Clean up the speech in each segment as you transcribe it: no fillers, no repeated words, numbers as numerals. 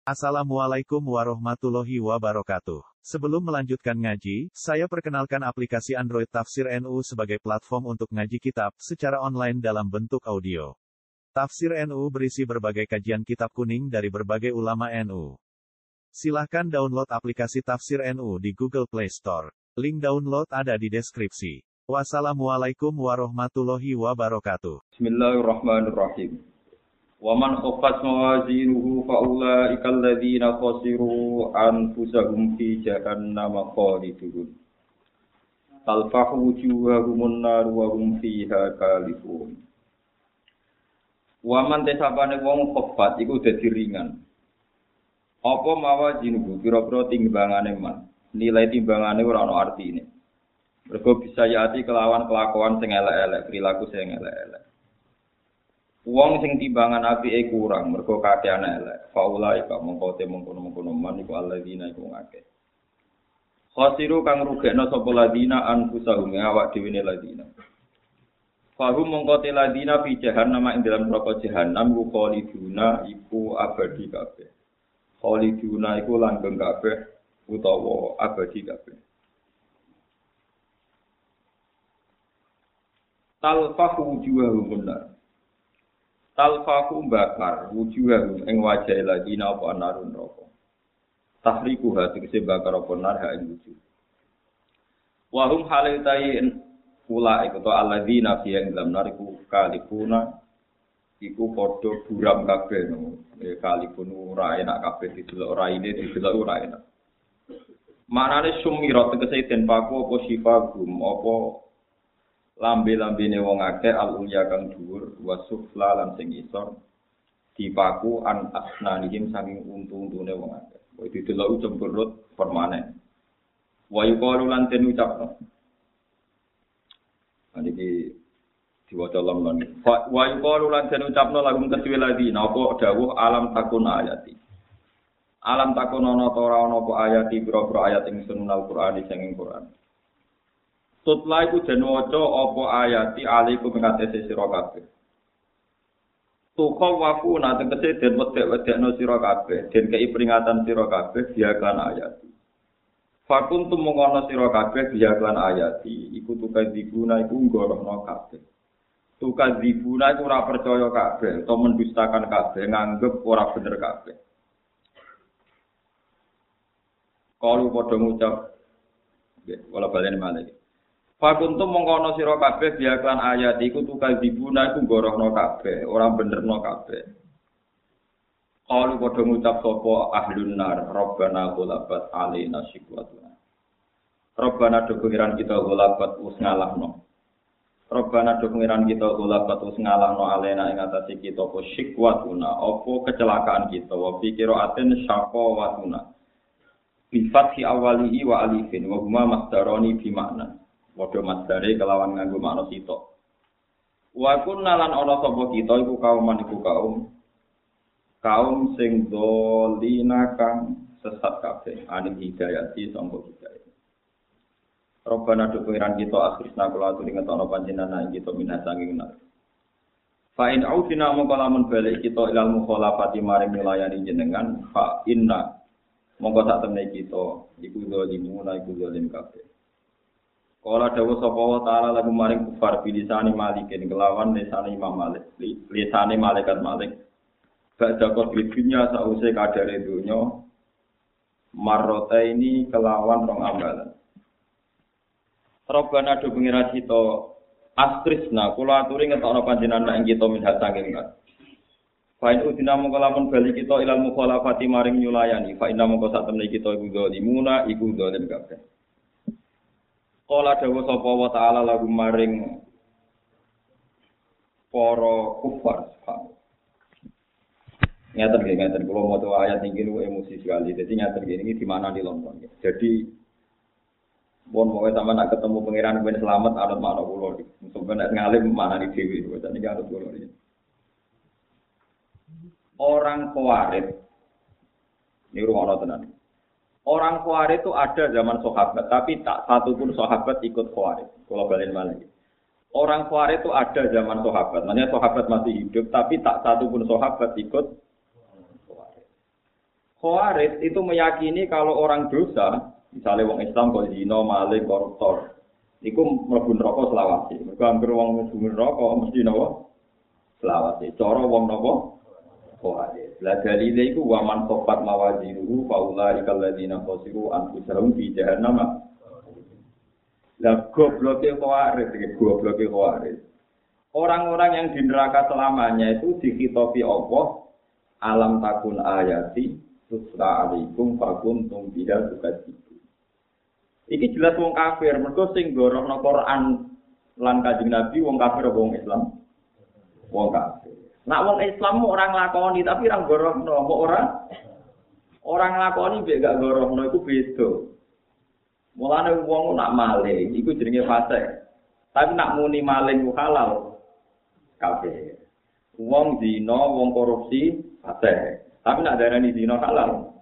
Assalamualaikum warahmatullahi wabarakatuh. Sebelum melanjutkan ngaji, saya perkenalkan aplikasi Android Tafsir NU sebagai platform untuk ngaji kitab secara online dalam bentuk audio. Tafsir NU berisi berbagai kajian kitab kuning dari berbagai ulama NU. Silahkan download aplikasi Tafsir NU di Google Play Store. Link download ada di deskripsi. Wassalamualaikum warahmatullahi wabarakatuh. Bismillahirrahmanirrahim. Wa man khaffat mawazinuhu fa ulaika alladziina khasiru anfusahum fi jahannam khalidun. Talfahu wujuhahumun nar wa hum fiha kalifun. Wa man tesapane wong khaffat iku dadi ringan. Apa mawazinuhu pira-pira timbangane man. Nilai timbangane ora ana artine. Mergo bisa yati kelawan kelakuan sing elek-elek, perilaku sing elek-elek. Wong sing timbangan apike kurang mergo kakean elek. Faulai ka mongko mengkono man iku alladzina iku ngakeh. Khasiru kang rugekno sapa ladina anfusahum awak dhewe ne ladina. Fahum mongko te ladina fi jahannam ing dalam neraka jahannam ku khaliduna iku abadi kabeh. Khaliduna iku langgeng kabeh utawa abadi kabeh. Talfahu wujuhahum nar. Talfahu bakar wujuhahum ing wajah ladina apa narun neraka. Tahriku tegese bakar apa nar ha ing wujuh. Wa hum halaitain ula iku to alladzina fi ing dalam nar iku kalifuna iku padha buram kabeh no. Kalifun ora enak kabeh didelok ora ine didelok ora enak. Manane sumirat tegese den paku apa sifagum apa lambe-lambene wong akeh al-ulya kang dhuwur wasufla lan sing isor dipaku an asnanihim saking untu-untune wong akeh. Kuwi didelok cemberut permanen. Wa yuqalu lan den ucapno. Niki diwaca lemon. Wa yuqalu lan den ucapno lagum kedue lagi napa dawuh alam takun ayati. Alam takun ana ta ora ana apa ayati pira-pira ayat ing sunnah Al-Qur'an sing ing Qur'an. Tutla iku den waca apa ayati alaikum ngatese sira kabeh. Tuqa wafu nate tegese den wedek-wedekno sira kabeh, den kei peringatan sira kabeh biaklan ayati. Fakuntum mengono sira kabeh biaklan ayati, iku tukadzibuna iku nggorohno kabeh. Tukadzibuna iku ora percaya kabeh, utawa mendustakan kabeh, nganggep ora bener kabeh. Kalu padha ngucap wala balen malih. Fakuntum mengkono sira kabeh biaklan ayat iku tukadzibuna iku gorohno kabeh, ora benerno kabeh. Qalu padha ngucap sapa ahlun nar, Rabbana ghalabat alaina shiqwatuna. Rabbana do pengiran kita ghalabat wis ngalahno. Rabbana do pengiran kita ghalabat wis ngalahno alaina ing atase kita apa shiqwatuna, apa kecelakaan kita, wa pikira aten syaqawatuna. Bi fathi awalihi wa alifin wa huma masdaroni bi makna. Padha masdare kelawan nganggo makna sitok. Wa kunna lan ana sapa kita iku kaum sing dolina kang sesat kabeh aning hidayati sangka hidayah. Robbana do pengiran kita akhirna kula aturi ngetokno panjenengan ing kita minah sanging nar. Fa in ausina mongko lamun balik kita ilal mukhalafati maring milayani jenengan fa inna mongko sak temne kita iku zalimuna iku zalim kabeh. Kala dawuh sapa wa ta'ala lagu maring kufar bilisane malikin kelawan lisane Imam Malik, lisane malaikat Malik. Badha kodrinya sause kadare donya marrota ini kelawan rong ambalan. Rabbana do pengira kita astrisna kula aturi ngetokno panjenengan ing kita minhat saking kat. Fa in udina mongko lamun bali kita ilal mukhalafati maring nyulayani fa inna mongko sak temne kita iku zalimuna iku zalim kabeh. Kala dawuh sapa wa ta'ala lagu maring para kufar. Ngaten kula maca ayat iki niku emosi sekali. Dadi ngaten iki di mana di London. Jadi pun pokoke sampeyan nak ketemu pangeran ben selamat anut makna kula iki. Sampeyan nek ngalim manani dhewe. Dadi iki anut kula iki. Orang Khawarij ini rumah tenan. Orang Khawarij itu ada zaman sahabat, tapi tak satu pun sahabat ikut Khawarij. Kalau balen malih. Orang Khawarij itu ada zaman sahabat, maknanya sahabat masih hidup, tapi tak satu pun sahabat ikut Khawarij. Khawarij itu meyakini kalau orang dosa, misalnya wong Islam kok zina, maling, koruptor, iku mlebu neraka selawase. Mergo anggere wong mlebu neraka mesti napa? Selawase. Cara wong napa? Khawarij. La dalile iku wa man sofat mawazinuhu fa ulaika alladziina khasiru anfusahum fi jahannam. Lah gobloke Khawarij. Orang-orang yang di neraka selamanya itu dikhitopi Allah, alam takun ayati Tusra alaikum fakuntum biha tukadzibu. Iki jelas wong kafir, mergo sing gorohno Quran lan Kanjeng Nabi wong kafir apa wong Islam? Wong kafir. Nak wong Islam ora nglakoni tapi ra gorohno, kok ora nglakoni mek gak gorohno iku beda. Mulane wong nak maling iku jenenge fasik. Tapi nak muni maling ku halal kafir. Wong zina, wong korupsi fasik. Tapi nak darani zina halal.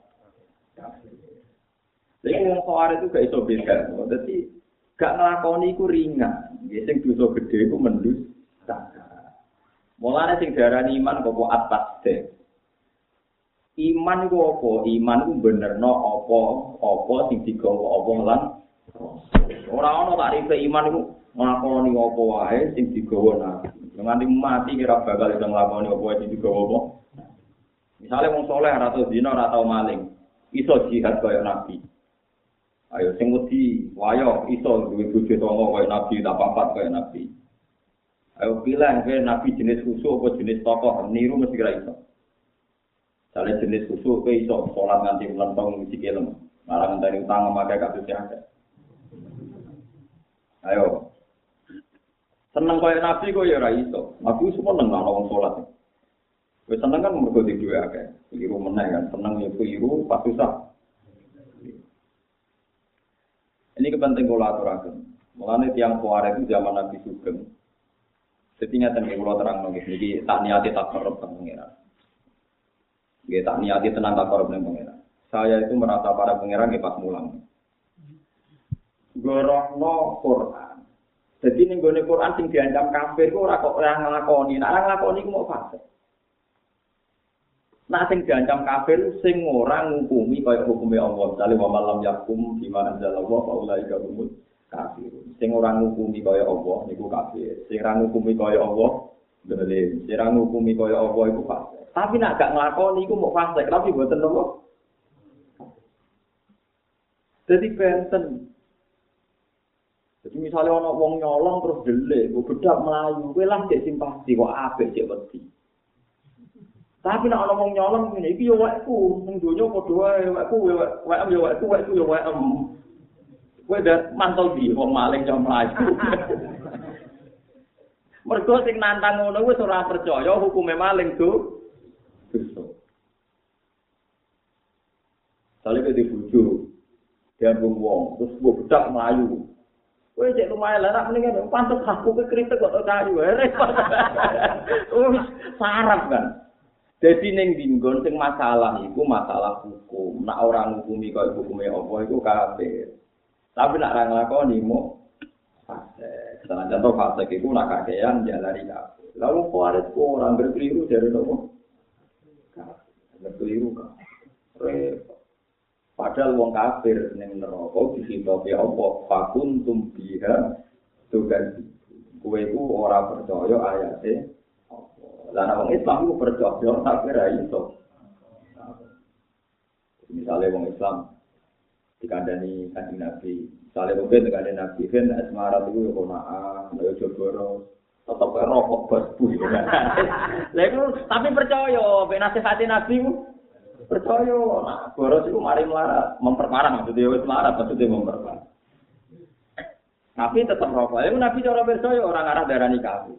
Jadi wong Khawarij itu gak iso beda. Dadi gak nglakoni iku ringan. Nggih sing dosa gedhe iku mendusta. Mulane sing darani iman kok atas deh. Iman iku apa? Iman iku benerno apa sing digawa apa lan ora ana tarife iman iku nglakoni apa wae sing digawa Nabi. Nganti mati kira bakal iso nglakoni apa sing digawa apa. Misalnya wong soleh ora tau zina ora tau maling, iso jihad kaya Nabi. Ayo sing wedi wayo iso duwe bojo tonggo kaya Nabi, tak papat kaya Nabi. Ayo pilih Nabi jenis khusus apa jenis tokoh, niru mesti kira iso. Misalnya jenis khusus ke iso salat nganti melentong sikilem, malah ngenteni utang memakai kasus akeh. Ayo. Seneng kaya Nabi kok ya ora iso. Nabi semua nang wong salat. Wis seneng kan mergo di duwe akeh. Keliru meneh kan, seneng ya keliru pas susah. Ini kepenting kula aturaken. Mulane tiyang Khawarij itu zaman Nabi Sugeng. Setinya ten kula terangno iki tak niati tak korup pengiran. Nggih tak niati tenang tak korup ning pengiran. Saya itu merasa para pengiran nggih pas mulang. Gorohno Quran. Jadi ning gone Quran sing diancam kafir kok ora kok ora nglakoni. Nek ora nglakoni ku mau fasik. Nah sing diancam kafir sing ora ngukumi kaya hukume Allah. Misale wa malam yakum bima anzalallahu fa ulaika humul kafirun. Sing ora ngukumi kaya Allah niku kafir. Sing ora ngukumi kaya Allah zalim. Sing ora ngukumi kaya Allah iku fasik. Tapi nek gak nglakoni iku mok fasik, tapi mboten napa. Dadi benten. Jadi misalnya ana wong nyolong terus delik, kok bedak mlayu, kowe lah cek simpati kok apik cek wedi. Tapi nek ana wong nyolong ngene iki yo wekku, ning donya padha wae wekku wek yo wekku yo wek. Kowe dak mantel di wong maling jam mlayu. Mergo sing nantang ngono wis ora percaya hukume maling dosa. Sale ke dibujuk. Dia wong terus mbok bedak mlayu. Kowe cek lumayan lah, nak mendingan pantes aku ke kritik kok kayu, repot. Sarap kan. Jadi ning dinggon sing masalah iku masalah hukum. Nak ora ngukumi kaya hukume apa iku kafir. Tapi nak ora nglakoni mo fasik. Contoh fasik iku nak kakean jalari kafir. Lalu Khawarij ku ora berkeliru dari nopo? Kafir. Berkeliru kan. Repot. Padahal wong kafir ning neraka disitopi apa fakuntum biha tugan kowe ku ora percaya ayate apa. Lah wong Islam ku percaya tapi ra iso. Misale wong Islam dikandani Kanjeng Nabi, misale mungkin dikandani Nabi kan asmarat iku yo konaan, yo jogoro, tetep rokok bos. Lah iku tapi percaya ben nasihati Nabi ku percaya, nah, boros itu mari melarat, memperparah maksudnya wis melarat, maksudnya memperparah. Tapi tetap rokok. Itu Nabi cara percaya orang arah darani kafir.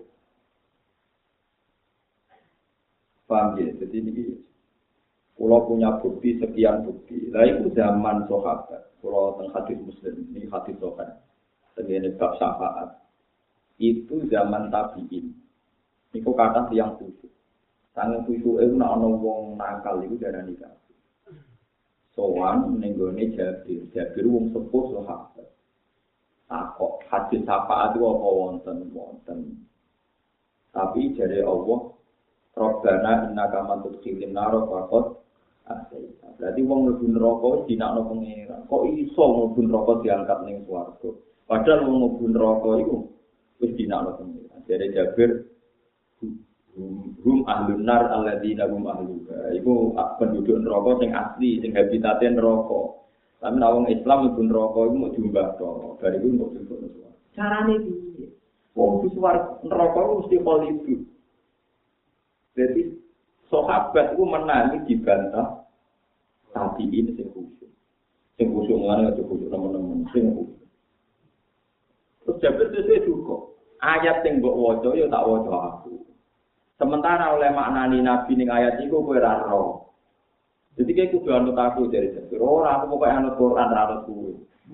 Paham ya? Jadi ini kalau punya bukti sekian bukti. Lah itu zaman sahabat. Kalau teng hadis Muslim, ini hadis sahabat. Tengene bab syafaat. Itu zaman tabi'in. Niku kata yang khusus. Sange susu itu nak ana wong nakal iku darani kafir. Sowan ning gone Jabir wong sepuh sahabat. Takok hadis syafaat itu apa wonten. Tapi jare Allah, Rabbana innaka man tudkhilin nar faqad Berarti wong mlebu neraka wis dinakno pangeran. Kok iso mlebu neraka diangkat ning swarga? Padahal wong mlebu neraka iku wis dinakno pangeran. Jare Jabir hum ahlun nar alladzina hum ahluha. Iku penduduk neraka sing asli, sing habitate neraka. Tapi nek wong Islam mlebu neraka iku mau diumbah to. Bar iku mung diumbah to. Carane piye? Wong wis neraka mesti kholidu. Jadi sahabat itu menangi dibantah tapi ini sing khusyuk. Sing khusyuk ngene aja khusyuk teman-teman sing khusyuk. Terus Jabir sesuai juga. Ayat sing mbok waca ya tak waca aku. Sementara oleh maknani Nabi ning ayat iku kowe ora ro. Jadi kayak kudu anut aku dari Jabir. Ora aku pokoke anut Quran ora anut kowe.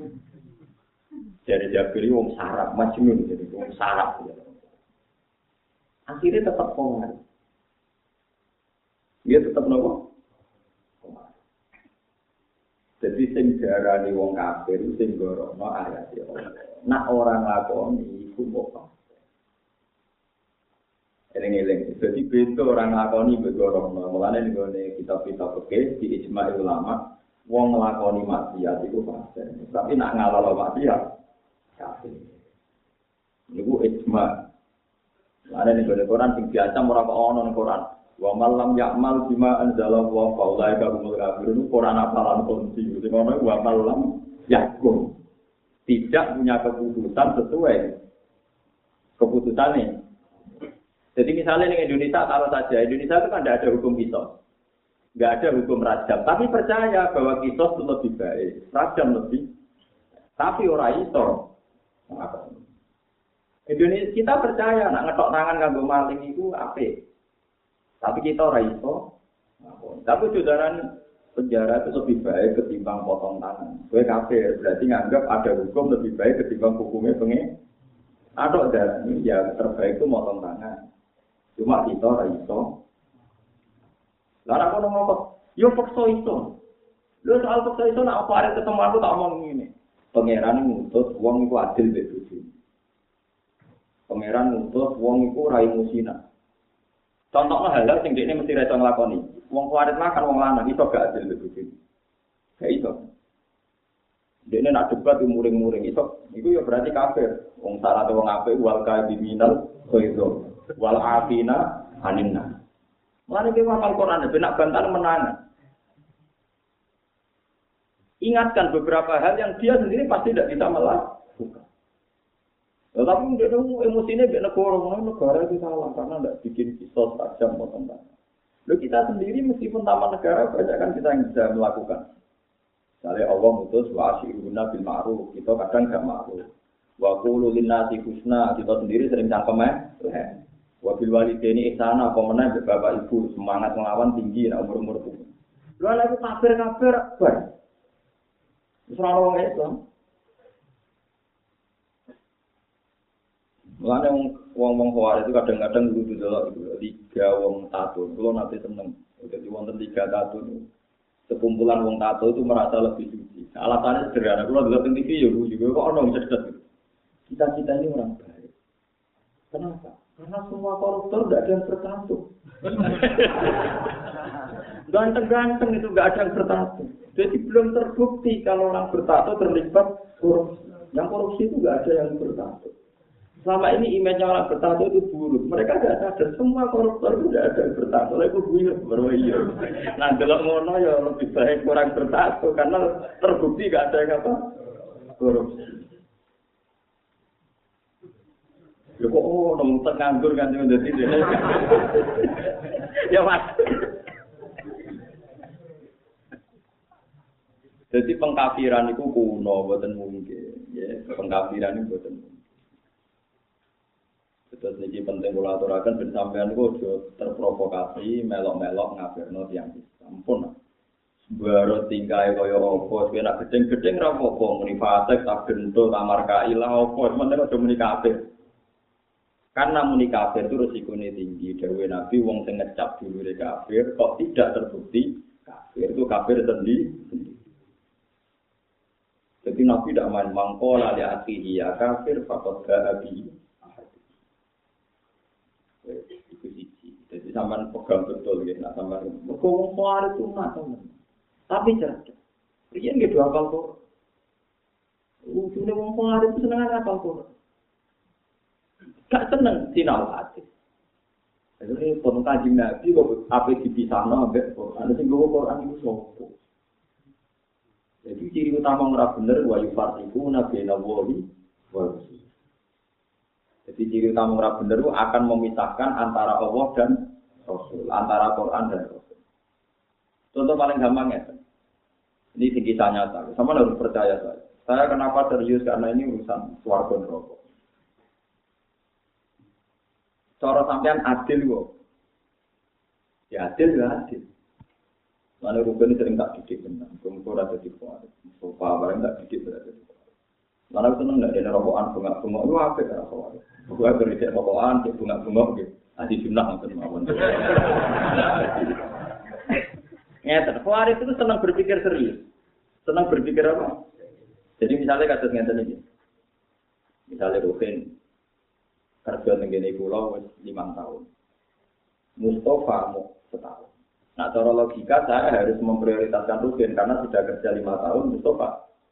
Dari Jabir wong sarap, majnun jadi wong sarap. Akhirnya tetap kongar. Dia tetap nopo. Jadi sing diarani wong kafir sing gorono ayat ya. Nak orang lakoni iku kok. Eling-eling. Jadi beda orang lakoni begorono. Mulane nggone kitab-kitab fikih di ijma' ulama wong nglakoni maksiat iku fasik. Tapi nak ngalalo maksiat kafir. Niku ijma'. Mulane nggone Quran sing biasa ora kok ono ning Quran. Wa malam ya'mal bima anzala wa faulaika humul kafirun. Quran apalan kunci sing ono wa malam yakum. Tidak punya keputusan sesuai keputusannya. Jadi misalnya di Indonesia taruh saja Indonesia itu kan tidak ada hukum kisos, nggak ada hukum rajam. Tapi percaya bahwa kisos itu lebih baik, rajam lebih. Tapi orang iso. Indonesia kita percaya nak ngetok tangan kanggo maling itu apik. Tapi kita ora iso. Tapi saudara penjara itu lebih baik ketimbang potong tangan. Kowe kafir, berarti nganggap ada hukum lebih baik ketimbang hukumnya pengen. Atau dan ya terbaik itu potong tangan. Cuma kita ora iso. Lah aku ngomong, yo paksa iso. Lho soal paksa iso nak apa arek ketemu aku tak omong ngene. Pangeran ngutus wong iku adil mbek bojone. Pangeran ngutus wong iku ora musina. Contohnya hal sing dekne mesti ra iso nglakoni. Wong kuwarit makan wong lanang iso gak adil mbek bojone. Gak iso. Dekne nak debat muring-muring iso. Iku ya berarti kafir. Wong syarat wong apik wal kaiminal khairu wal afina aninna. Mulane ki hafal Quran ben nak bantal menang. Ingatkan beberapa hal yang dia sendiri pasti tidak bisa melakukan. Tetapi dia tahu emosinya biar negara itu salah karena tidak bikin kisos tajam potong tangan. Lalu kita sendiri meskipun taman negara banyak kan kita yang bisa melakukan. Misalnya Allah mutus wa asyiruna bil ma'ruf, kita kadang enggak ma'ruf. Wa qulu linnasi husna, kita sendiri sering cangkem wa bil walidaini ihsana, apa meneh bapak ibu semangat melawan tinggi nek umur-umur itu. Lha lek kafir-kafir bar. Wis ora wong Islam. Mulane wong-wong Khawarij itu kadang-kadang kudu delok tiga wong tato. Kulo nate seneng. Jadi wonten tiga tato. Sekumpulan wong tato itu merasa lebih suci. Alasannya sederhana. Kulo delok teng TV ya juga kok ono cerdas. Kita ini orang baik. Kenapa? Karena semua koruptor tidak ada yang bertato. Ganteng-ganteng itu tidak ada yang bertato. Jadi belum terbukti kalau orang bertato terlibat korupsi. Yang korupsi itu tidak ada yang bertato. Selama ini image orang bertato itu buruk. Mereka tidak sadar semua koruptor itu tidak ada yang bertato. Lalu buyur berwajib. Nah kalau ngono ya lebih baik orang bertato karena terbukti tidak ada yang apa korupsi. Ya kok nang nganggur kan dadi dene. Ya Mas. Jadi pengkafiran itu kuno, mboten mungkin. Ya, pengkafiran itu mboten mungkin. Terus niki penting kula aturaken ben sampeyan niku aja terprovokasi melok-melok ngafirno tiyang Islam. Ampun. Baro tingkae kaya apa, kowe nek gedeng-gedeng ra apa-apa, muni fasik tak gento kamar kailah apa, sementara aja muni kafir. Karena muni kafir itu resikonya tinggi. Dawuh Nabi wong sing ngecap dulure kafir kok tidak terbukti kafir itu kafir sendiri. Jadi Nabi tidak main mangkola li akhihi ya kafir faqad ga'abi. Itu siji. Jadi sampean pegang betul nggih nak sampean. Mergo wong Khawarij itu teman. Tapi cerdas. Riyen nggih do hafal kok. Ujune wong Khawarij itu seneng hafal kok. Gak seneng sinau hadis. Jadi pun kaji Nabi kok apa dipisahno ambek Quran. Sing nggo Quran iku sapa? Jadi ciri utama ora bener wa yufarriqu nabiyana wahi wa rasul. Jadi ciri utama ora bener itu akan memisahkan antara Allah dan Rasul, antara Quran dan Rasul. Contoh paling gampang ya. Ini kisah nyata. Sama harus percaya saya. Saya kenapa serius karena ini urusan swarga neraka. Cara sampean adil kok. Ya adil ya adil. Mana rukun sering tak didik benar. Kumpul ada di kuat. Sofa barang tak didik berada di kuat. Mana seneng nggak ada rokokan bunga-bunga itu apa ya rokokan? Gue kerja rokokan, bunga-bunga gitu. Adi sunnah nonton mawon. Ngeten, Khawarij itu senang berpikir serius. Senang berpikir apa? Jadi misalnya kasus ngeten ini. Misalnya Rukin kerja tenggene kula wis 5 tahun. Mustafa mau setahun. Nah, cara logika saya harus memprioritaskan Rukin karena sudah kerja 5 tahun Mustafa.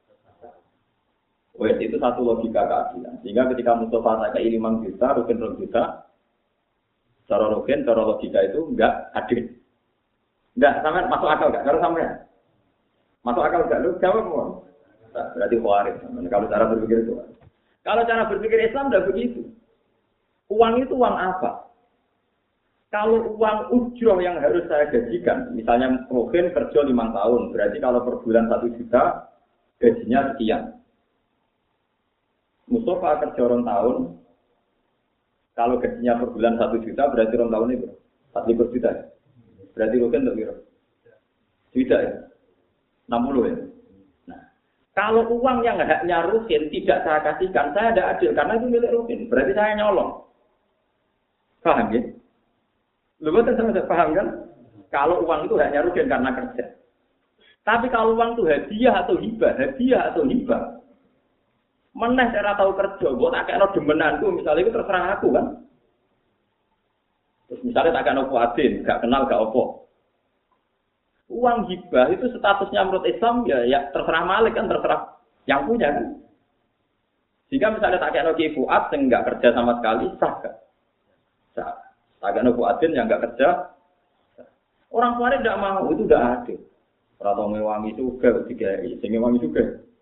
Wes itu satu logika keadilan. Sehingga ketika Mustafa saya 5 juta, Rukin 2 juta, cara Rukin, cara logika itu enggak adil. Enggak, sampean masuk akal enggak? Kalau sampean masuk akal enggak? Lu jawab mau. Nah, berarti Khawarij. Kalau cara berpikir itu. Kalau cara berpikir Islam enggak begitu. Uang itu uang apa? Kalau uang ujroh yang harus saya gajikan, misalnya Rukin kerja 5 tahun, berarti kalau per bulan 1 juta, gajinya sekian. Mustafa kerja 2 tahun, kalau gajinya per bulan 1 juta, berarti 2 tahun itu 4 juta. Berarti Rukin untuk kira? Tidak ya? 60 ya? Nah, kalau uang yang haknya Rukin tidak saya kasihkan, saya tidak adil, karena itu milik Rukin. Berarti saya nyolong. Paham ya? Lu betul sama saya paham kan? Kalau uang itu haknya Rukin karena kerja. Tapi kalau uang itu hadiah atau hibah. Meneh cara tahu kerja, gue tak kayak demenanku, misalnya itu terserah aku kan. Terus misalnya tak kayak Fuadin, gak kenal gak opo. Uang hibah itu statusnya menurut Islam ya terserah Malik kan, terserah yang punya kan. Jika misalnya tak kayak Fuad yang gak kerja sama sekali, sah gak? Sah. Tak kayak Fuadin yang gak kerja, sah. Orang Khawarij tidak mau, itu udah adil. Atau mewangi juga, sehingga mewangi juga.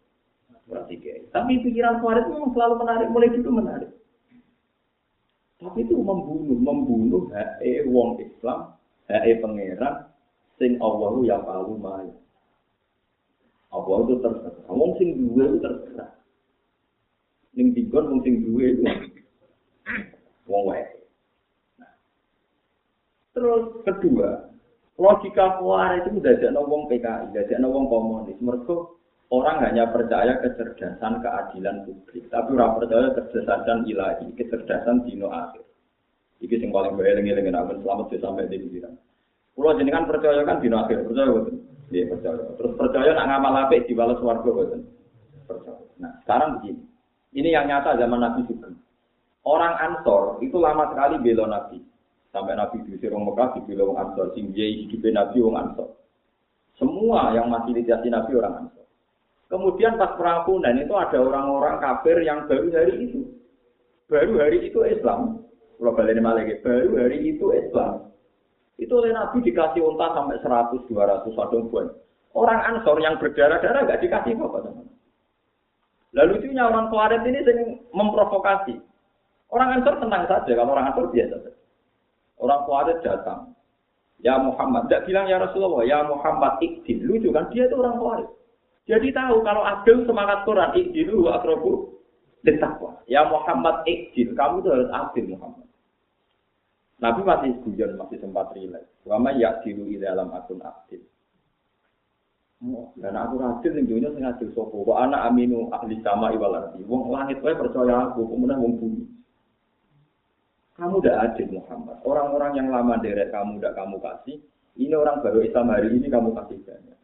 Tapi pikiran Khawarij memang selalu menarik, mulai itu menarik. Tapi itu membunuh hak wong Islam, hak pangeran, sing Allahu ya palu mai. Allah itu terserah. Wong sing duwe itu terserah. Ning dikon wong sing duwe itu wong wae. Nah. Terus kedua, logika Khawarij itu dadekno wong PKI, dadekno wong komunis. Mergo orang hanya percaya kecerdasan keadilan publik, tapi ora percaya kecerdasan ilahi, kecerdasan dino akhir. Iki sing paling eling-eling nek selamat sampai di pikiran. Kulo jenengan percaya kan dino akhir, percaya boten? Nggih, percaya. Terus percaya nak ngamal apik dibalas swarga boten? Percaya. Nah, sekarang begini. Ini yang nyata zaman Nabi juga. Orang Ansor itu lama sekali bela Nabi. Sampai Nabi diusir wong Mekah dibela wong Ansor, sing hidup Nabi wong Ansor. Semua yang masih diasihi Nabi orang Ansor. Kemudian pas perang Hunain itu ada orang-orang kafir yang baru hari itu Islam. Kalau balik lagi, baru hari itu Islam. Itu oleh Nabi dikasih unta sampai 100, 200 adung buan. Orang Ansor yang berdarah-darah nggak dikasih apa-apa. Lalu lucunya orang Khawarij ini sering memprovokasi. Orang Ansor tenang saja, kalau orang Ansor biasa saja. Orang Khawarij datang. Ya Muhammad, tidak bilang ya Rasulullah, ya Muhammad ikdil. Lucu kan, dia itu orang Khawarij. Jadi tahu kalau adil semangat Quran ikdilu wa aqrabu lit-taqwa. Ya Muhammad ikdil, kamu itu harus adil Muhammad. Nabi masih guyon, masih sempat rileks. Wa may ya'dilu idza lam akun adil. Dan aku adil ning dunya sing adil sapa? Wa ana aminu ahli sama wal ardi. Wong langit wae percaya aku, kemudian wong bumi. Kamu udah adil Muhammad. Orang-orang yang lama derek kamu udah kamu kasih. Ini orang baru Islam hari ini kamu kasih banyak.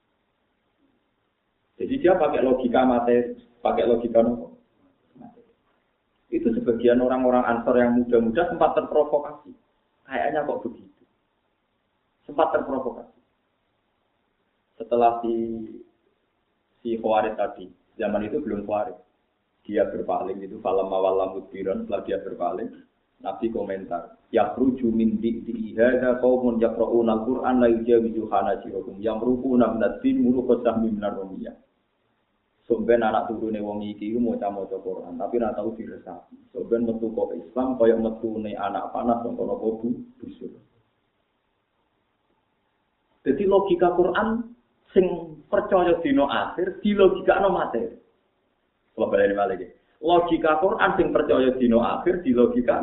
Jadi dia pakai logika materi, pakai logika nopo. Itu sebagian orang-orang Ansor yang muda-muda sempat terprovokasi. Kayaknya kok begitu. sempat terprovokasi. Setelah si Khawarij tadi, zaman itu belum Khawarij. Dia berpaling itu falam mawalam mudbiran, setelah dia berpaling, Nabi komentar, yakhruju min di'i hadza qaumun yaqra'una al-Qur'an la yujawizu hanajirahum yamruquna min ad-din muruqasah min ar-rumiyah. Sampeyan anak turune wong iki maca-maca Quran, tapi ora tau diresapi. Sampeyan metu kok Islam kaya metune anak panas saka kono busur. Jadi logika Quran sing percaya dina akhir di logikane materi. Kalau balik lagi, logika Quran sing percaya dino akhir di logika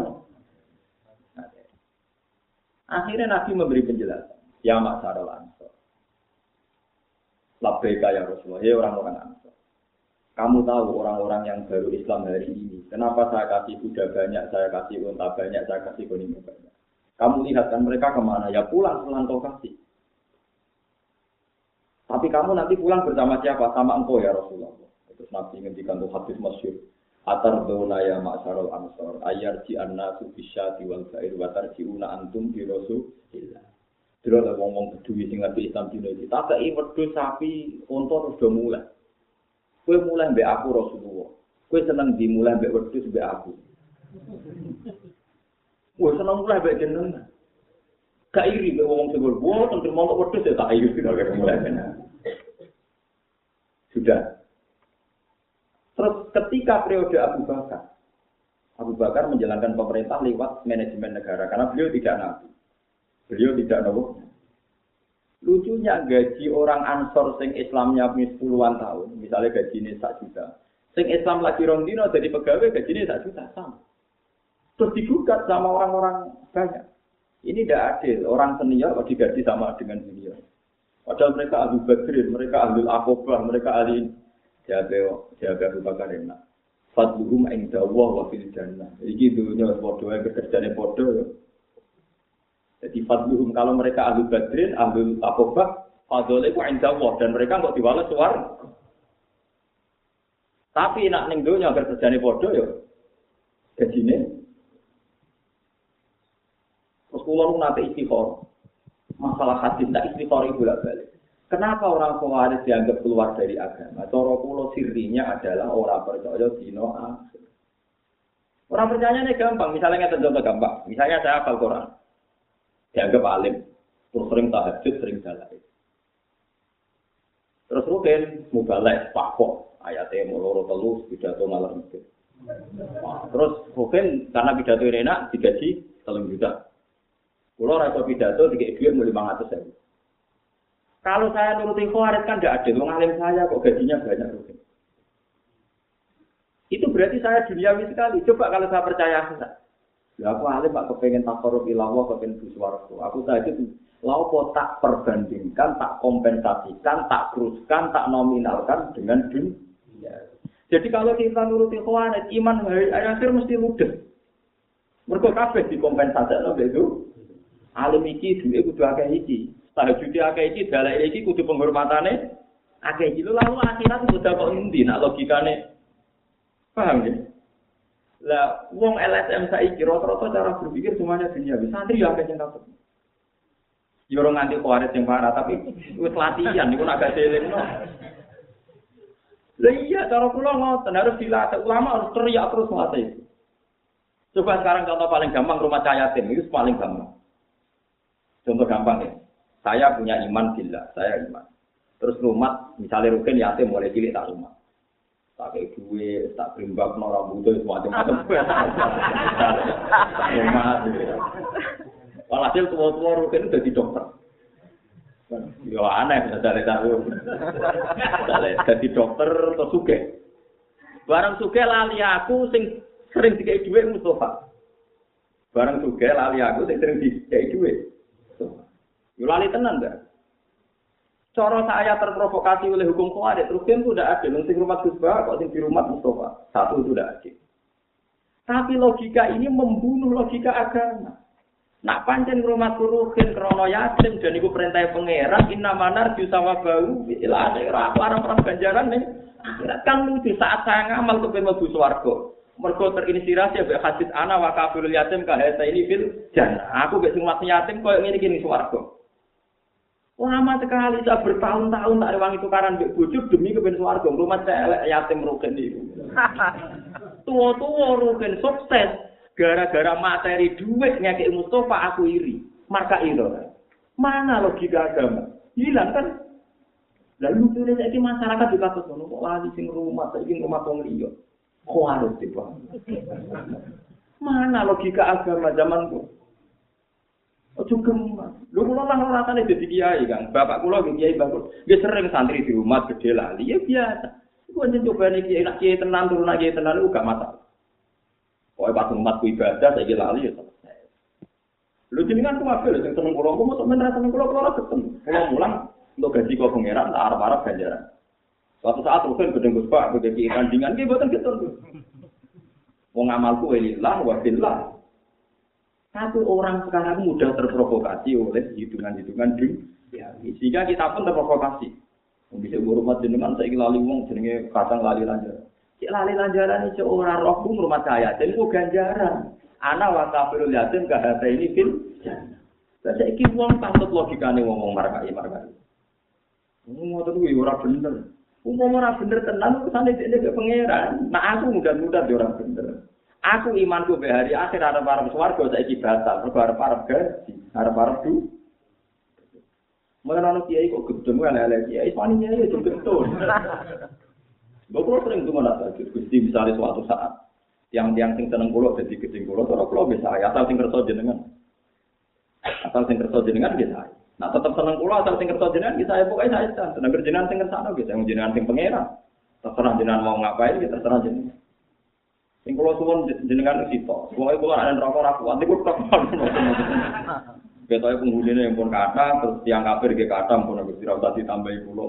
akhirnya Nabi memberi penjelasan. Ya masyarul ansor. Labbaika ya Rasulullah, ya orang-orang ansor. Kamu tahu orang-orang yang baru Islam hari ini, kenapa saya kasih kuda banyak, saya kasih unta banyak, saya kasih kuning banyak. Kamu lihat kan mereka kemana? Ya pulang kau kasih. Tapi kamu nanti pulang bersama siapa? Sama engkau ya Rasulullah. Terus Nabi ngendikan tuh hadis masyhur, atarduna ya ma'syarul ansor ayarji annasu bisyati wal ba'ir wa tarjiuna antum bi rasulillah. Terus ada wong-wong peduli sing ngerti Islam dina iki. Tak kei wedhus sapi unta terus do mulai. Kowe mulai mbek aku Rasulullah. Kowe seneng dimulai mbek wedhus mbek aku. Kowe seneng mulai mbek jenengan. Gak iri mbek wong sing gol, tentu mau wedhus ya tak iri kira mulai kena. Sudah. Terus ketika periode Abu Bakar menjalankan pemerintah lewat manajemen negara karena beliau tidak nabi. Beliau tidak nabi. Lucunya gaji orang Ansor sing Islamnya puluhan tahun, misalnya gajinya 1 juta. Sing Islam lagi rong dino jadi pegawai gajinya 1 juta sama. Terus digugat sama orang-orang banyak. Ini tidak adil, orang senior kok digaji sama dengan junior. Padahal mereka Abu Bakrin, mereka Ahlul Aqobah, mereka ahli jaga Abu Bakar enak. Fadluhum inda Allah wa fil jannah. Iki dunya padha wae kerjane padha ya. Jadi fadluhum kalau mereka Ahlul Badrin, Ahlul Aqobah, fadlule ku inda Allah dan mereka kok diwales swarga. Tapi nak ning dunya kerjane padha ya. Gajine. Terus kula nate istighfar. Masalah hadis tak istighfar iku balik. Kenapa orang Khawarij dianggap keluar dari agama? Cara kula sirinya adalah orang percaya dino akhir. Orang percayanya gampang, misalnya contoh gampang. Misalnya saya hafal Quran. Dianggap alim, terus sering tahajud, sering dalai. Terus mungkin mubalek, pakok, ayatnya muloro telus, pidato malam itu. Terus mungkin karena pidato ini enak, digaji 3 juta. Kalau rasa pidato, dikasih duit 500.000. Kalau saya nuruti Khawarij kan tidak adil, wong alim saya kok gajinya banyak rugi. Itu berarti saya duniawi sekali. Coba kalau saya percaya enggak. Ya aku alim Pak kepengen takarrub ilallah, kepengen buswarga. Aku saja laopo tak perbandingkan, tak kompensasikan, tak teruskan, tak nominalkan dengan dunia. Jadi kalau kita nuruti Khawarij, iman akhir mesti ludes. Mergo kabeh dikompensasikno itu. Alim iki duwe kudu akeh iki. Tahajud akeh iki, dalek iki kudu penghormatane akeh iki. Lalu akhirat kudu kok endi nak logikane. Paham ya? Lah wong LSM saiki rata-rata cara berpikir semuanya dunia. Santri yo akeh sing takut. Yo ora nganti Khawarij sing parah, tapi wis latihan niku agak selingno. Lah iya cara kula ngoten harus dilatih. Ulama harus teriak terus melatih. Coba sekarang contoh paling gampang rumah yatim itu paling gampang. Contoh gampang ya. Saya punya iman billah, saya iman. Terus rumah, misalnya rugen yatim mulai cilik tak rumah. Tak kayak duit, tak berimbak, rambutnya semacam-macam. Tak rumah. Walhasil tua-tua rugen udah di dokter. Ya aneh, bisa tahu. Jadi dokter atau suge. Barang suge lali aku sing sering dikai duit Mustafa. Barang suge lali aku sing sering dikai duit. Yulali tenan dah. Cara saya terprovokasi oleh hukum Khawarij, terus kan sudah ada. Sing rumah Gus Bah, kok sing di rumah Mustafa. Satu sudah ada. Tapi logika ini membunuh logika agama. Nak pancen rumah Ruhin krono yatim dan iku perintah pangeran inna manar jusawabahu ila akhirat larang-larang ganjaran nih. Akhirat kan lucu saat saya ngamal kepen mlebu swarga. Mergo terinspirasi ambek hadis ana wa kafirul yatim ka hasa ini fil jannah. Aku gak sing mati yatim koyo ngene iki ning swarga. Lama sekali saya bertahun-tahun tak rewangi tukaran mbek bojo demi kepen swarga. Rumah elek yatim rugen iki. Tua-tua rugen sukses gara-gara materi duit ngekek Mustafa aku iri. Marka itu. Mana logika agama? Hilang kan? Lalu tulis saiki masyarakat juga ngono kok lali sing rumah saiki rumah wong liya. Kok harus tiba. Mana logika agama zamanku? Ojo gemas. Lho kula lah rasane dadi kiai, Kang. Bapak kula nggih kiai bagus. Nggih sering santri di rumah gede lali ya biasa. Iku njen cobane kiai nak kiai tenan turun kiai tenan iku gak masalah. Pokoke pas umat ku ibadah saiki lali ya selesai. Lho jenengan ku apik lho sing seneng kula, kok mosok men ra seneng kula ora ketemu. Kula mulang untuk gaji kok pangeran tak arep-arep ganjaran. Suatu saat rugen gedeng Gus Pak gedhe tandingan nggih mboten ketun. Wong amalku lillah wa billah. Satu orang sekarang mudah terprovokasi oleh hitungan-hitungan dunia. Sehingga kita pun terprovokasi. Bisa rumah jenengan saya lali wong jenenge kadang lali lanjaran. Cek lali lanjaran iki ora roh rumah saya. Jadi ku ganjaran. Ana wa kafirul yatim ka hata ini fil. Lah saiki wong patut logikane ngomong markai. Ngoten kuwi ora bener. Umum ora bener tenan usane dene ke pangeran. Nah aku mudah-mudah ora bener. Aku imanku be hari akhir arep-arep swarga saiki batal, mergo arep-arep gaji, arep-arep du. Mengono kiai kok gedeng elek-elek kiai, paninya ya gedeng. Bapak sering tuh mana tadi, Gusti misalnya suatu saat tiang-tiang sing seneng kula dadi gedeng kula, cara kula bisa asal sing kersa jenengan. Asal sing kersa jenengan bisa. Nah tetep seneng kula asal sing kersa jenengan bisa ya pokoke saya seneng jenengan sing kersane bisa jenengan sing pangeran. Terserah jenengan mau ngapain ya terserah jenengan. Sing kula suwun jenengan sito. Pokoke kula ana neraka ra kuat niku tok. Ketoke penghunine pun kathah terus tiang kafir nggih kathah pun Gusti ra usah ditambahi kula.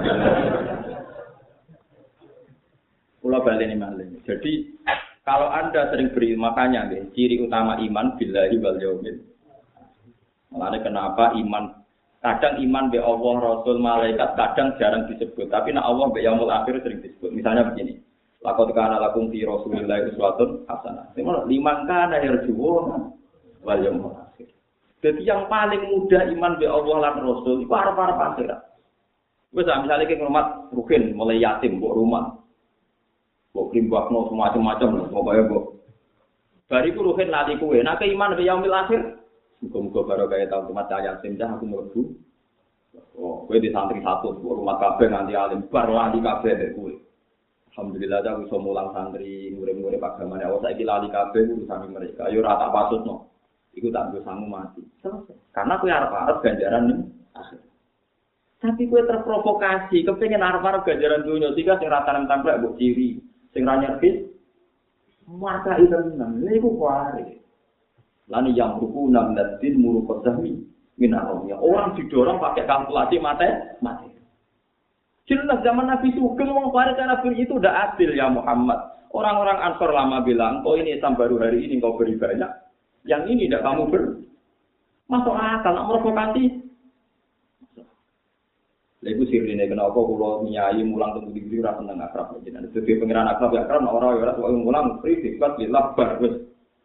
Kula baleni malih. Jadi kalau Anda sering beri makanya nggih ciri utama iman billahi wal yaumil. Makanya kenapa iman kadang iman be Allah, Rasul, malaikat kadang jarang disebut, tapi nek Allah be yaumul akhir sering disebut. Misalnya begini. Laqad kana lakum fi Rasulillahi uswatun hasanah. Liman kana yarjuuna wal yaumil akhir. Jadi yang paling mudah iman be Allah lan Rasul iku arep-arep akhirat. Wis misale ki ngrumat ruhin mulai yatim mbok rumah. Mbok krimbakno semacam-macam pokoke mbok. Bariku ruhin lali kuwe, nek iman be yaumil akhir muga-muga barokah tahun temat yatim dah aku mlebu. Oh, kowe di santri 100 rumah kabeh nganti alim bar lali kabeh kowe. Alhamdulillah aku iso mulang santri, murid-murid agamane Allah saiki lali kabeh urusan mereka. Yo ora tak pasutno. Iku tak nggo sangu mati. Selesai. Karena kowe arep-arep ganjaran ning akhir. Tapi kowe terprovokasi, kepengin arep-arep ganjaran dunya sehingga sing ra tanam tamplek mbok ciri, sing ra nyervis maka itu tenan. Niku kuwi. Lani yang ruku namdatin murukot zahmi minaromnya. Orang didorong pakai kalkulasi mati. Jelas zaman Nabi Sugeng wong Farid Nabi itu udah adil ya Muhammad. Orang-orang Ansor lama bilang, "Oh ini Islam baru hari ini kau beri banyak. Yang ini tidak kamu masuk akal, nak provokasi." Lagu sirine kenapa kula nyai mulang teng ndi ora seneng akrab jenengan. Dadi pengiran akrab ya akrab ora ora mulang free sifat lillah bar wis.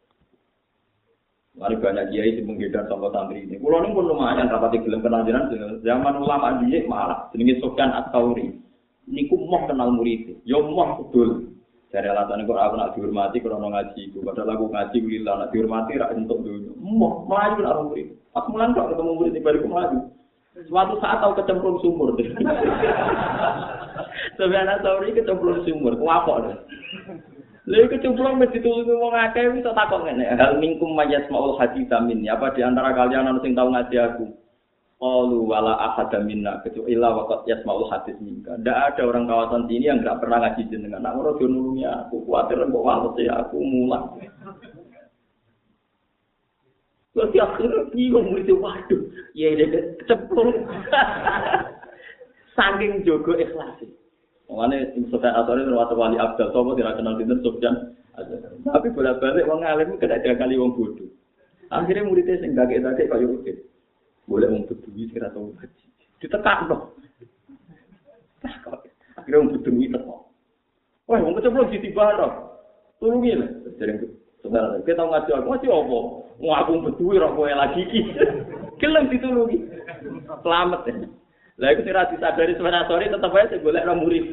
Mari banyak kiai sing menggedar sama santri ini. Kulo niku pun lumayan rapati gelem kenal jenengan zaman ulama dhisik malah jenenge Sufyan Ats-Tsauri. Niku moh kenal murid. Yo moh kudul. Dari alasan kok aku nak dihormati krana ngaji iku. Padahal aku ngaji lillah nak dihormati ra entuk donya. Moh mlayu nak murid. Pas mulan kok ketemu murid di bariku mlayu. Suatu saat tahu kecemplung sumur. Sufyan Ats-Tsauri kecemplung sumur. Kuapok. Lha kecemplung mesti ditulungi wong akeh wis tak takon ngene. Hal minkum mayasmaul hadits min. Apa di antara kalian ana sing tau ngaji aku? Qalu wala ahad minna kecuali waqt yasmaul hadits minka. Ndak ada orang kawasan sini yang enggak pernah ngaji jenengan. Nak ora nulungi aku, kuwatir mbok wales ya aku mulang. Terus akhirnya bingung murid waduh, ya dia kecemplung. Saking jogo ikhlas. Mane Sufyan Ats-Tsauri termasuk wali abdal sapa tidak kenal dinten Sufyan. Tapi bolak-balik wong alim kena kali wong bodoh. Akhirnya muridnya sing gagek-gagek kaya rutin. Boleh wong beduwi sing ora tau ngaji. Ditekakno. Akhirnya wong beduwi teko. Wah, wong kecemplung ditibaro. Tulungi lho. Dereng saudara, kita tau ngaji aku apa? Wong aku beduwi ora kowe lagi iki. Gelem ditulungi. Selamat ya. Lah iku ora disadari sebenarnya sore tetep ae sing golek nang murid.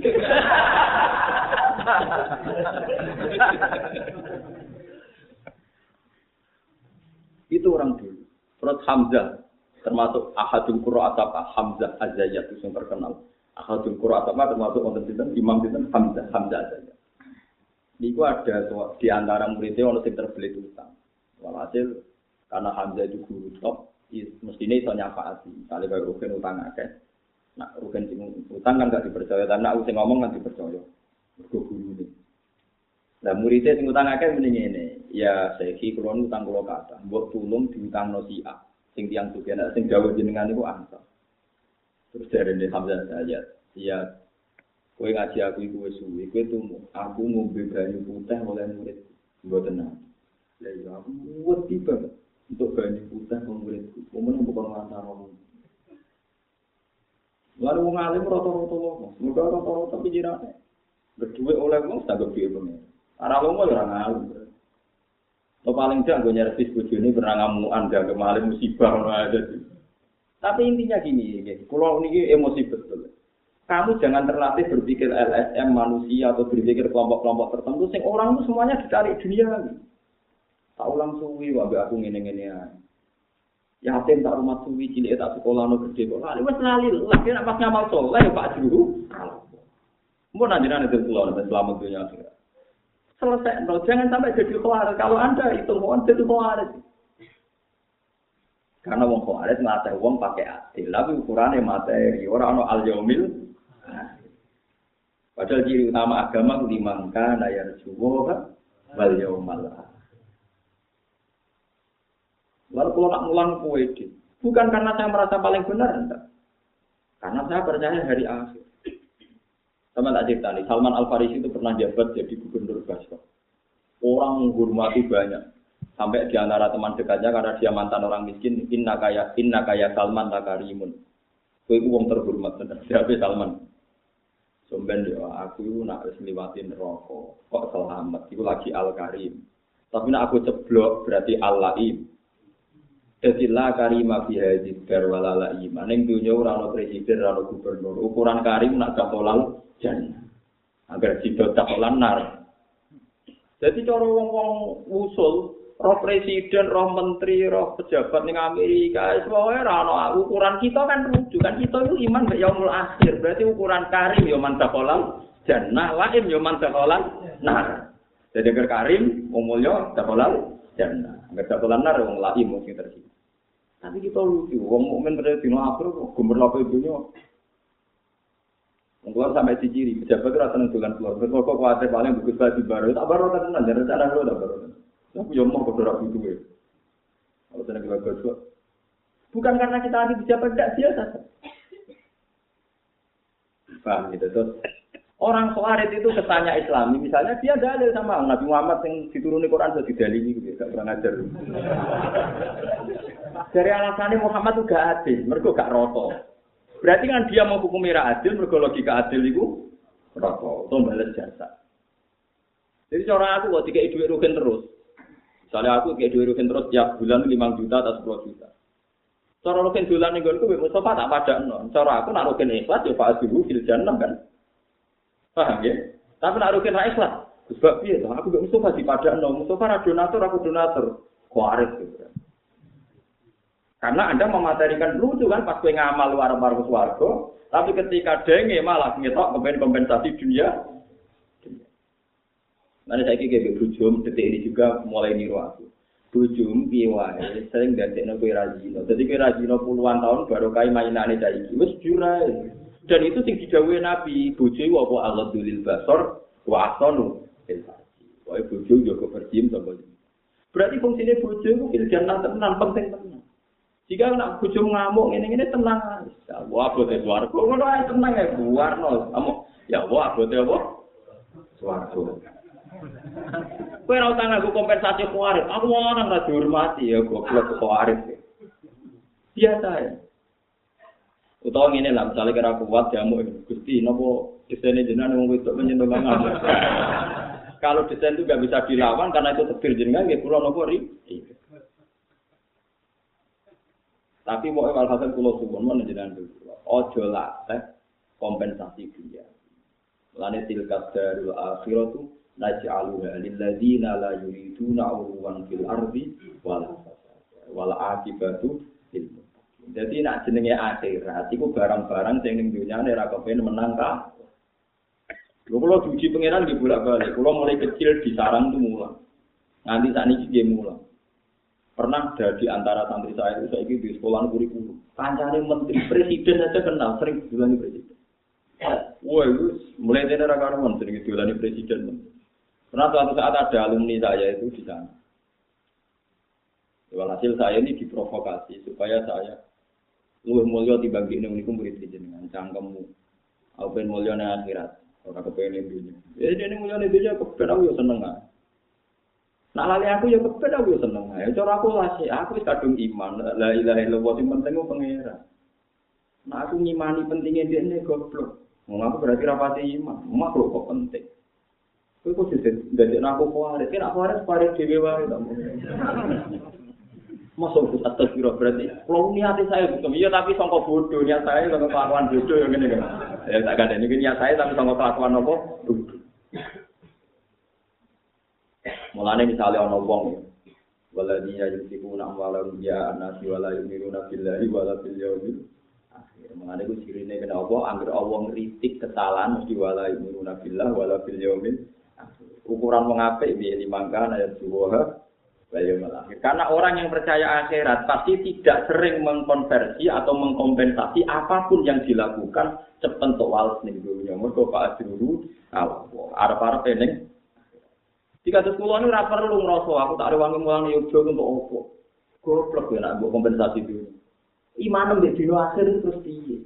Itu orang dulu. Terus Hamzah termasuk ahadul qurra atapa Hamzah Az-Zayyat itu yang terkenal. Ahadul qurra atapa termasuk wonten sinten Imam sinten Hamzah Az-Zayyat. Niku ada di antara muridnya ono sing terbelit utang. Walhasil karena Hamzah itu guru top, mestinya iso nyafaati. Misalnya kaya Rukin utang akeh. Nah, Rukin sing utang kan gak dipercaya, tapi aku sing ngomong kan dipercaya. Mergo gurune. Lah muridé sing utang akeh muni ngene, ya saiki kula utang kula kathah, mbok tulung diutangno si A. Sing tiyang sugih nek sing dawuh jenengan niku ansor. Terus jarene Hamzah saya, ya kowe ngaji aku iku wis suwi, kowe tumu. Aku ngombe banyu putih oleh murid. Mboten nate. Lah ya aku wedi banget untuk banyu putih wong muridku. Momen bukan ngantar wong. Lalu wong alim rata-rata wong, muga rata-rata pikirane. Berdua oleh wong saged piye pengen. Ora wong ora ngalim. Lo paling jak nggo nyervis bojone pernah ngamukan gak kemalim musibah ngono aja. Tapi intinya gini, kula niki emosi betul. Kamu jangan terlatih berpikir LSM manusia atau berpikir kelompok-kelompok tertentu sing orang itu semuanya dicari dunia. Tak ulang suwi wae aku ngene-ngene ae. Yatim tak rumah suwi cilik tak sekolah no gede kok. Lali wis lali, lagi nek pas ngamal saleh ya Pak Juru. Mun anjenengan itu kula nek selamat dunia akhirat. Selesai, no. Jangan sampai jadi khawarij. Kalau Anda itu mohon jadi khawarij. Karena wong khawarij ngate wong pakai adil, tapi ukurannya materi, ora ono al-yaumil. Padahal ciri utama agama liman kana yarjuwa wal yaumal akhir. Lalu kalau nak mulang kowe iki, bukan karena saya merasa paling benar, enggak. Karena saya percaya hari akhir. Sama tak cerita nih, Salman Al-Farisi itu pernah jabat jadi gubernur Basra. Orang menghormati banyak. Sampai di antara teman dekatnya karena dia mantan orang miskin, inna kaya Salman takarimun. Kowe iku wong terhormat tenan. Siapa Salman? Somben yo aku nak wis liwati neraka, kok selamat. Iku lagi Al-Karim. Tapi nak aku ceblok berarti Al-Laim. Jadi la karima fi hadhihi dar wala laim. Ning dunya ora ono presiden, ora ono gubernur. Ukuran karim nak kapolal jannah. Agar sidot kapolan nar. Jadi cara wong-wong usul, roh presiden, roh menteri, roh pejabat ning Amerika, semuanya ora ono ukuran kita kan rujukan kita itu iman mek yaumul akhir. Berarti ukuran karim ya man kapolal jannah, laim ya man kapolal nar. Jadi agar karim umulnya kapolal jannah. Agar kapolal nar wong laim mungkin terjadi. Tapi kita lucu, wong mukmin pada dino akhir kok gemerlap dunya. Wong keluar sampai diciri, pejabat ora seneng dolan keluar. Kok kuwate paling bagus bagi baru, tak baru tenan jan rencana lho tak baru. Aku yo mau kok ora butuhe. Kalau tenan bagus kok. Bukan karena kita anti pejabat enggak biasa. Paham gitu terus. Orang Khawarij itu kesannya Islami, misalnya dia dalil sama Nabi Muhammad yang dituruni Quran sudah didalili gitu, gak kurang ajar. Dari alasannya Muhammad itu gak adil, mereka gak roto. Berarti kan dia mau hukum merah adil, mereka logika adil itu roto, itu balas jasa. Jadi cara aku kok dikei duit rugen terus. Misalnya aku dikei duit rugen terus tiap bulan 5 juta atau 10 juta. Cara rugen bulan ning nggonku Mustafa tak padakno. Cara aku nak rugen ikhlas ya Pak Azhuru fil jannah kan. Paham ya? Tapi nak rugen ra ikhlas. Sebab piye to? Aku mbek Mustafa dipadakno. Mustafa ra donatur, aku donatur. Khawarij gitu. Karena Anda mematerikan lucu kan pas kowe ngamal warung swarga, tapi ketika denge malah ngetok kompensasi dunia. Nanti saya kira bujum detik ini juga mulai niru aku. Bujum piye wae sering dadekno kowe rajino. Dadi kowe rajino puluhan tahun baru kae mainane saiki. Wis jurae. Dan itu sing didhawuhi Nabi, bojo apa Allahul basar wa ahsanu fil farji. Wae bojo yo kepercim sapa. Berarti fungsine bojo iku fil jannah tenan penting tenan. Jika nak bojo ngamuk ngene-ngene tenang. Ya Allah abote swarga. Ngono ae tenang ae buarno. Kamu ya Allah abote apa? Swarga. Kowe ora usah nganggo kompensasi khawarij. Aku orang ra dihormati ya goblok khawarij. Biasa ya. Utawa ngene lah, misalnya kira kuat jamu Gusti, napa desainnya jenengan wong wedok menyentuh banget. Kalau desain itu nggak bisa dilawan karena itu takdir jenengan, nggih kula napa ri. Tapi mau walhasil kula suwun men jenengan kula. Aja latih kompensasi dunia. Lane tilkat darul akhiratu naj'aluha lil ladzina la yuriduna 'uluwan fil ardi wala fasada wal 'aqibatu lil muttaqin. Dadi nek jenenge akhirat iku barang-barang sing ning dunyane ra kepen menang ka. Lho kula diuji pangeran nggih bolak-balik. Kula mulai kecil di sarang tuh mulang. Nganti sakniki nggih mulang. Pernah ada di antara santri saya itu saiki di sekolah kurikulum. Kancane menteri presiden aja kenal, sering dilani presiden. Wah, itu mulai dari rakaman sering dilani presiden. Pernah suatu saat ada alumni saya itu di sana. Walhasil saya ini diprovokasi supaya saya luwih mulya dibanding niku murid jenengan cangkemmu. Aku pengen mulya nang akhirat, ora kepengin dunya. Ya dene mulya nang dunya kepen aku yo seneng ae. Nah lali aku ya kepen aku seneng ae. Cara aku lasi, aku wis kadung iman. La ilaha illallah sing penting ku pangeran. Nah aku ngimani pentingnya dene goblok. Wong aku berarti rapati iman. Makhluk kok penting. Kowe kok dadi aku kuwarit. Nek aku kuwarit dhewe wae ta. Masuk atas kira berarti. Kalau niat saya bukan iya tapi sangka bodoh niat saya sangka kelakuan bodoh yang ngene kan. Ya tak ada ini niat saya tapi sangka kelakuan apa? Bodoh. Mulane misale ana wong waladina yusibuna amwalahum ya anasi wala yu'minuna billahi wala bil yaumil akhir. Mulane ku sirine kena apa anggere Allah ngritik kesalahan mesti wala yu'minuna billahi wala bil yaumil akhir. Ukuran wong apik piye limangkan ayat suwa wal yaumil akhir. Karena orang yang percaya akhirat pasti tidak sering mengkonversi atau mengkompensasi apapun yang dilakukan sepentok wales ning dunya. Mergo Pak Ajruru Allah arep-arep ning jika terus kula niku ora perlu ngrasa aku tak rewangi mulang yoga untuk opo. Goblok ya nek mbok kompensasi dulu. Iman mbek dina akhir terus piye?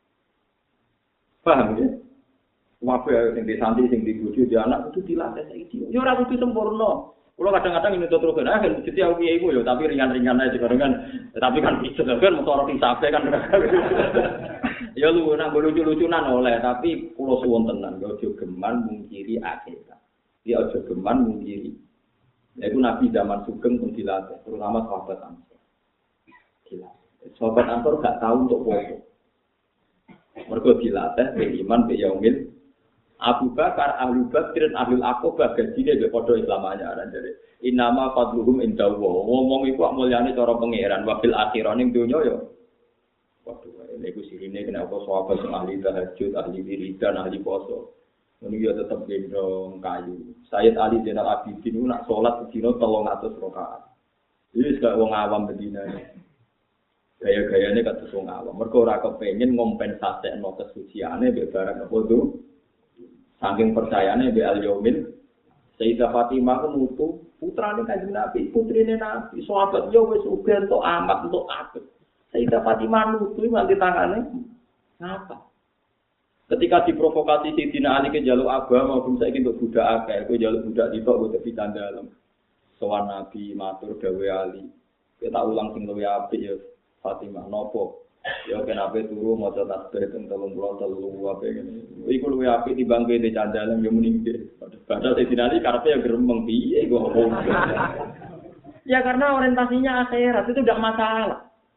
Paham ya? Wae sing di santri sing di bojo di anak kudu dilatih saiki. Ya ora kudu sempurna. Kula kadang-kadang ini terus kan jadi aku kiai ku ya tapi ringan-ringan aja kadang-kadang. Tapi kan bisa kan motor hisabe kan. Ya lu nak lucu-lucunan oleh tapi kula suwun tenan aja geman mungkiri akhirat. Dia aja geman mungkiri. Yaitu Nabi zaman Sugeng pun dilatih, terutama sahabat Ansor. Dilatih. Sahabat Ansor gak tahu untuk foto. Mereka dilatih, beriman, yaumil. Abu Bakar, Ahlu Badr, Ahlul Aqobah, gajinya be podo Islamanya. Jadi, inama fadluhum indallah. Ngomong itu mulyane cara pangeran. Wabil akhiran yang dunia ya. Waduh, ini aku sirine kenapa sahabat ahli tahajud, ahli wiridan, ahli poso. Ini dia tetap gendong kayu. Sayyid Ali Zainal Abidin itu nak sholat di dino 300 rakaat. Ini sekarang orang awam bedina. Gaya-gayanya kata wong awam. Mereka ora kepengin ngompensasekno kesuciane mbek barang apa itu. Saking percayane mbek al-yaumil. Sayyidah Fatimah ku mutu putrane Kanjeng Nabi, putrine Nabi. Sahabat yo wis uga entuk amat entuk akeh. Sayyidah Fatimah nutu nganti tangane ngapa? Ketika diprovokasi Sayyidina Ali ke jaluk agama, maupun saya ingin untuk budak akeh, aku jaluk budak di tok budak di dalam. Sowan Nabi matur dawe Ali. Kita ulang sing luwih apik ya Fatimah nopo. Ya kenapa turu maca tasbih teng 33 apa ngene. Iku luwih apik dibangke di candalan yo muni nggih. Padahal Sayyidina Ali karepe ya gremeng piye kok. Ya karena orientasinya akhirat itu tidak masalah.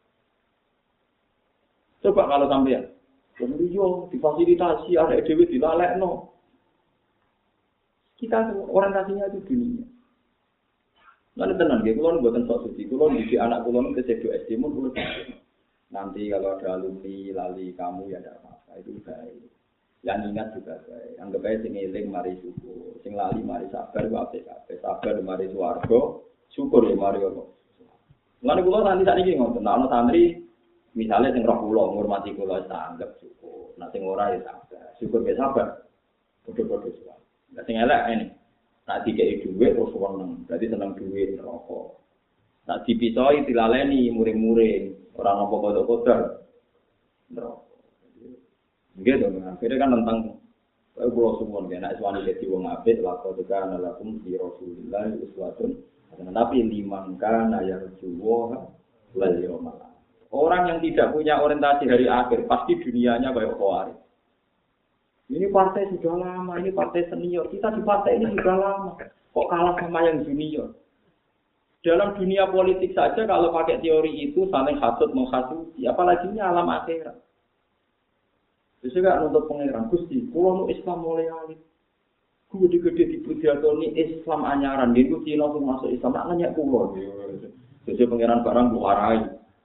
Coba kalau sampean kemudian difasilitasi, ada EDW dilalekno. Kita orientasinya itu dunia. Lalu tenang, kalau buatan sok suci, kalau di anak kalau ke sedo SD pun nanti kalau ada alumni lali kamu ya ada apa-apa itu baik. Yang ingat juga baik. Anggap aja sing eling mari syukur, sing lali mari sabar, wae sabar mari swarga, syukur ya mari apa. Lalu kalau nanti saat ini ngoten, ana santri misalnya sing roh kula ngurmati kula anggap syukur. Nek sing ora ya sabar. Syukur ge sabar. Padha-padha suwe. Nek sing elek ini. Nek dikeki dhuwit terus seneng. Berarti seneng dhuwit rokok. Nek dipisoi dilaleni muring-muring, ora nampa kodok-kodok. Rokok. Nggih to, akhire kan tentang kula suwun nek suwani dadi wong apik lakon tekan lakum fi Rasulillah uswatun. Tapi liman kana yarjuwa wal yawmal orang yang tidak punya orientasi hari akhir, pasti dunianya kayak Khawarij. Ini partai sudah lama, ini partai senior. Kita di partai ini sudah lama. Kok kalah sama yang junior? Dalam dunia politik saja kalau pakai teori itu saling hasut menghasuti, apalagi ini alam akhirat. Terus juga nuntut pangeran Gusti, kulo nu Islam mulai alit. Gede-gede di Budiatoni Islam anyaran, dia itu Cina masuk Islam, nak nanya kulo. Jadi pangeran barang buarai.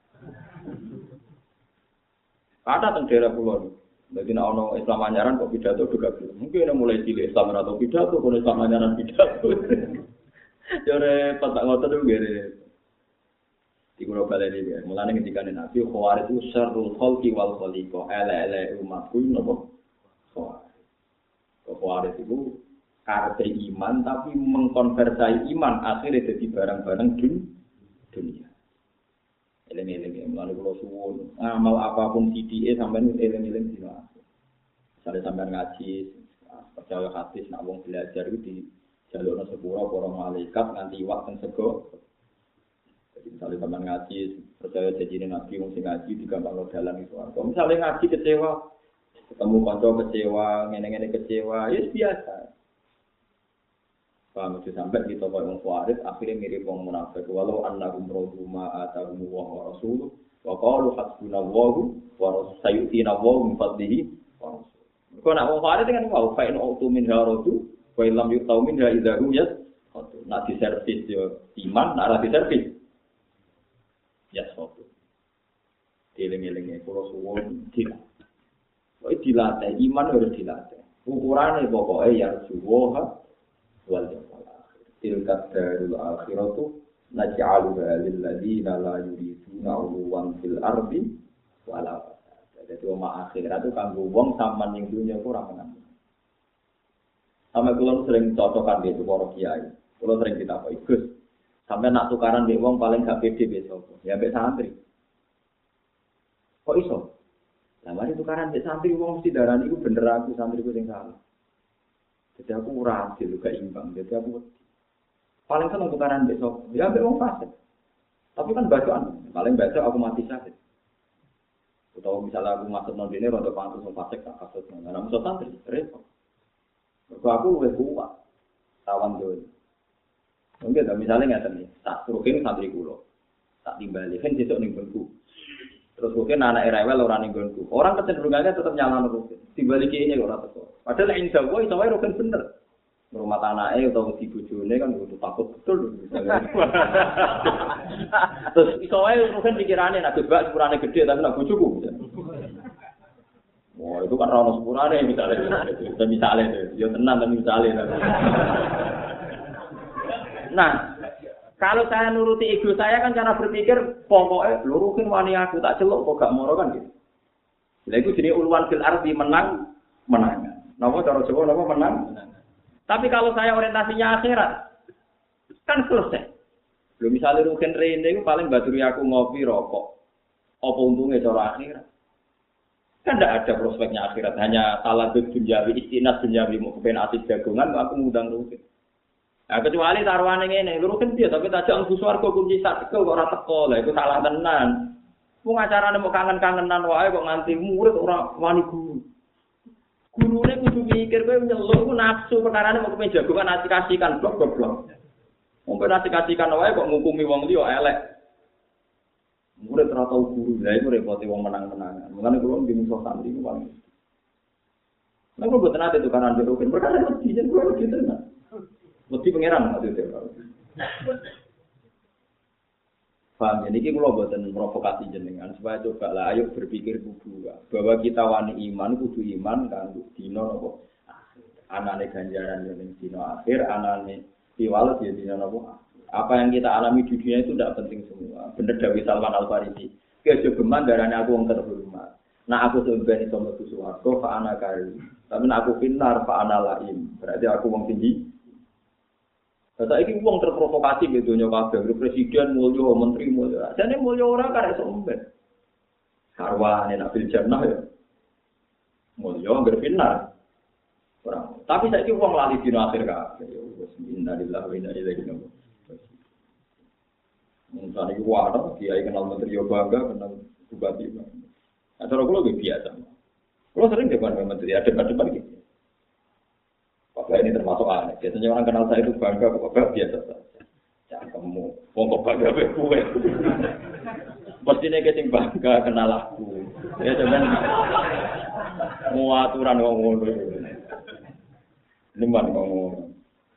Ada teng daerah pulau. Jadi nak ono Islam anyaran kok pidato juga belum. Mungkin ada mulai cilik Islam atau pidato, kalau Islam anyaran pidato. Jare patak ngotot itu gede. Di Pulau Bali ini, mulanya ketika Nabi Khawarij itu syarrul khalqi wal khaliqa, ele umatku nopo. Khawarij itu karena iman tapi mengkonversi iman akhirnya jadi barang-barang dunia. Eleng-eleng mulane kula suwun ngamal apapun CDE sampean eleng-eleng dina. Misale sampean ngaji percaya hadis nak wong belajar iku di jalukna sepura para malaikat nganti iwak teng sego. Jadi misale sampean ngaji percaya janjine Nabi wong sing ngaji digampangno dalan iku. Kok misale ngaji kecewa ketemu kanca kecewa ngene-ngene kecewa ya biasa. Paham itu sampai kita orang Khawarij akhirnya mirip orang munafik walau annahum raduma atahum wa rasuluh wa qalu hasbunallahu wa sayu'tina wa min fadlihi wa rasuluh. Kok nak Khawarij dengan mau fa in autu min haradu wa illam yu'tau min idzarum yas nak di servis yo iman nak di servis ya sopo. Eling-elinge kula suwun dilatih iman harus dilatih. Ukurane pokoke ya suwoha wal jamal akhir. Tilka darul akhiratu naj'aluha lil ladzina la yuriduna 'uluwan fil ardi wala fasad. Jadi omah akhirat itu kanggo wong sampean ning dunya ora menang. Sampe kula sering cocokan di para kiai. Kula sering ditakoki, Gus, sampe nak tukaran mbek wong paling gak pede besok. Ya mbek santri. Kok iso? Lah mari tukaran mbek santri wong mesti darani iku bener aku santriku sing salah. Jadi aku ora adil gak imbang. Jadi aku paling seneng tukaran besok. Ya ambek wong fasik. Tapi kan bacaan, paling baca aku mati sakit. Atau misalnya aku masuk non dene rada pantes wong fasik tak kasut. Nah, musuh santri repot. Kok aku wis kuat. Tawan dhewe. Mungkin misalnya ngeten iki, tak rukin santri kula. Tak timbali kan sesuk ning bengku. Terus mungkin anak rewel ora ning nggonku. Orang kecenderungannya tetap nyalano rukin. Timbali kene ora teko. Padahal ing Jawa iso wae rukin bener. Rumah anake utawa di bojone kan kudu takut betul misalnya. Terus iso wae rukin pikirane nek bebas sepurane gede tapi nek bojoku. Wah, itu kan ra ono sepurane misalnya. Misalnya yo tenan tapi misalnya. Nah, kalau saya nuruti ego saya kan cara berpikir pokoknya lurukin wani aku tak celuk kok gak moro kan gitu. Lha iku jenenge ulwan fil ardi menangan. Napa cara Jawa napa menang? Tapi kalau saya orientasinya akhirat kan selesai. Belum misalnya rukin rene iku paling baturi aku ngopi rokok. Apa untungnya cara akhirat? Kan tidak ada prospeknya akhirat, hanya salah duniawi istinas duniawi mau kepen asik jagongan aku ngundang rukin. Nah, kecuali taruhane ngene, rukin dia tapi tajak mlebu swarga kunci sak tekel kok ora teko. Lah iku salah tenan. Wong acarane mau kangen-kangenan wae kok nganti murid ora wani guru. Gurune kudu mikir kowe nyeluk ku nafsu perkarane mau kepen jagongan asik-asikan blok-blok. Wong ben asik-asikan wae kok ngukumi wong liya elek. Murid ora tau guru, lha iku repote wong menang-menangan. Mulane kula nggih musuh santri ku paling. Nek kok boten ate tukaran rukin, perkara mesti yen kula gitu tenan. Mesti pangeran maksudnya. Paham, jadi kita buatan provokasi jenengan supaya coba lah, ayo berpikir kudu bahwa kita wani iman, kudu iman kan dino nopo anane ganjaran yang dino akhir, anane piwales ya dino nopo. Apa yang kita alami di dunia itu tidak penting semua. Bener Dawi Salman Al Farisi. Kejogeman darahnya aku yang terhormat. Nah aku sebenarnya itu metu suwarga, fa ana kari. Tapi nah aku finar, fa ana laim. Berarti aku wong tinggi. Saiki wong terprovokasi ke dunia kabeh, presiden mulya, menteri mulya. Jane mulya ora karek sombet. Sarwane nak bil jannah ya. Mulya berfinar. Ora. Tapi saiki wong lali dina akhir kabeh. Wis innalillahi wa inna ilaihi raji'un. Mungkin iku wae kiai kenal menteri yo bangga, kenal bupati. Acara kula lebih biasa. Kula sering depan menteri, ada depan gitu. Bapak ini termasuk aneh. Biasanya orang kenal saya itu bangga, bapak biasa saja. Cangkemmu, wong kok bangga kowe kowe. Mestine ki sing bangga kenal aku. Ya sampean mau aturan wong ngono. Liman ngomong.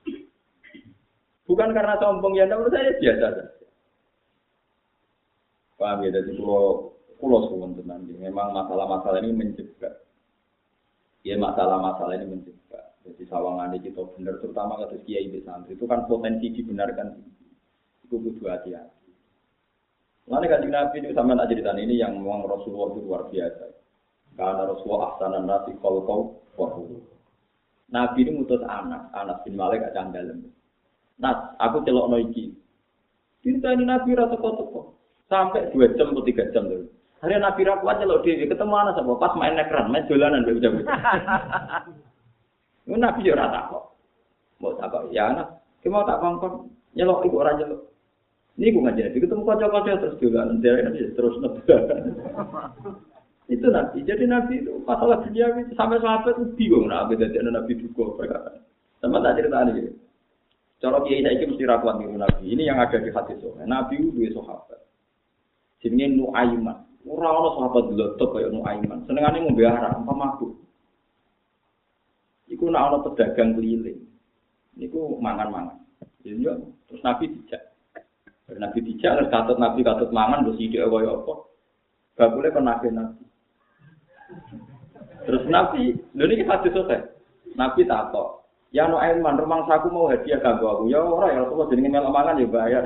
Bukan karena sombong ya, menurut saya biasa saja. Paham ya, jadi pulau suwun tenan. Memang masalah-masalah ini mencegah. Ya masalah-masalah ini mencegah. Jadi sawangan kita benar, terutama kasus kiai di santri itu kan potensi dibenarkan. Itu kudu hati-hati. Lalu kanjeng Nabi itu sama nak cerita ini yang memang Rasulullah itu luar biasa. Karena Rasulullah ahsanan nasi khalqau wa khuluq. Nabi ini ngutus Anas bin Malik gak candalem. Nas, aku celokno iki. Cerita ini Nabi ra teko-teko. Sampai 2 jam atau 3 jam dulu. Hari Nabi ra kuat celok dhewe ketemu Anas apa pas main nekran, main dolanan mbek bocah. Nabi yo ora takok. Mau takok ya Anas, ki mau tak kongkon nyelok iku ora nyelok. Niku ngajeni ketemu kanca-kanca terus dolanan terus nebak. Itu Nabi. Jadi Nabi itu masalah dunia itu sampai sahabat itu bingung Nabi jadi Nabi duka perkara. Sama tak cerita ini. Cara kiai saiki mesti ra kuat niru Nabi. Ini yang ada di hadis soal. Nabi itu duwe sahabat. Jenenge Nuaiman. Ora ana sahabat blotok kaya Nuaiman. Senengane ngombe arak, mabuk. Iku nek ana pedagang keliling. Niku mangan-mangan. Ya terus Nabi dijak. Nabi dijak terus katut Nabi katut mangan terus ide kaya apa. Bakule kon Nabi. Terus Nabi, lho niki hadis selesai. Nabi takok, "Ya Nuaiman, rumangsaku mau hadiah kanggo aku." Ya ora ya Rasulullah jenenge melok mangan ya bayar.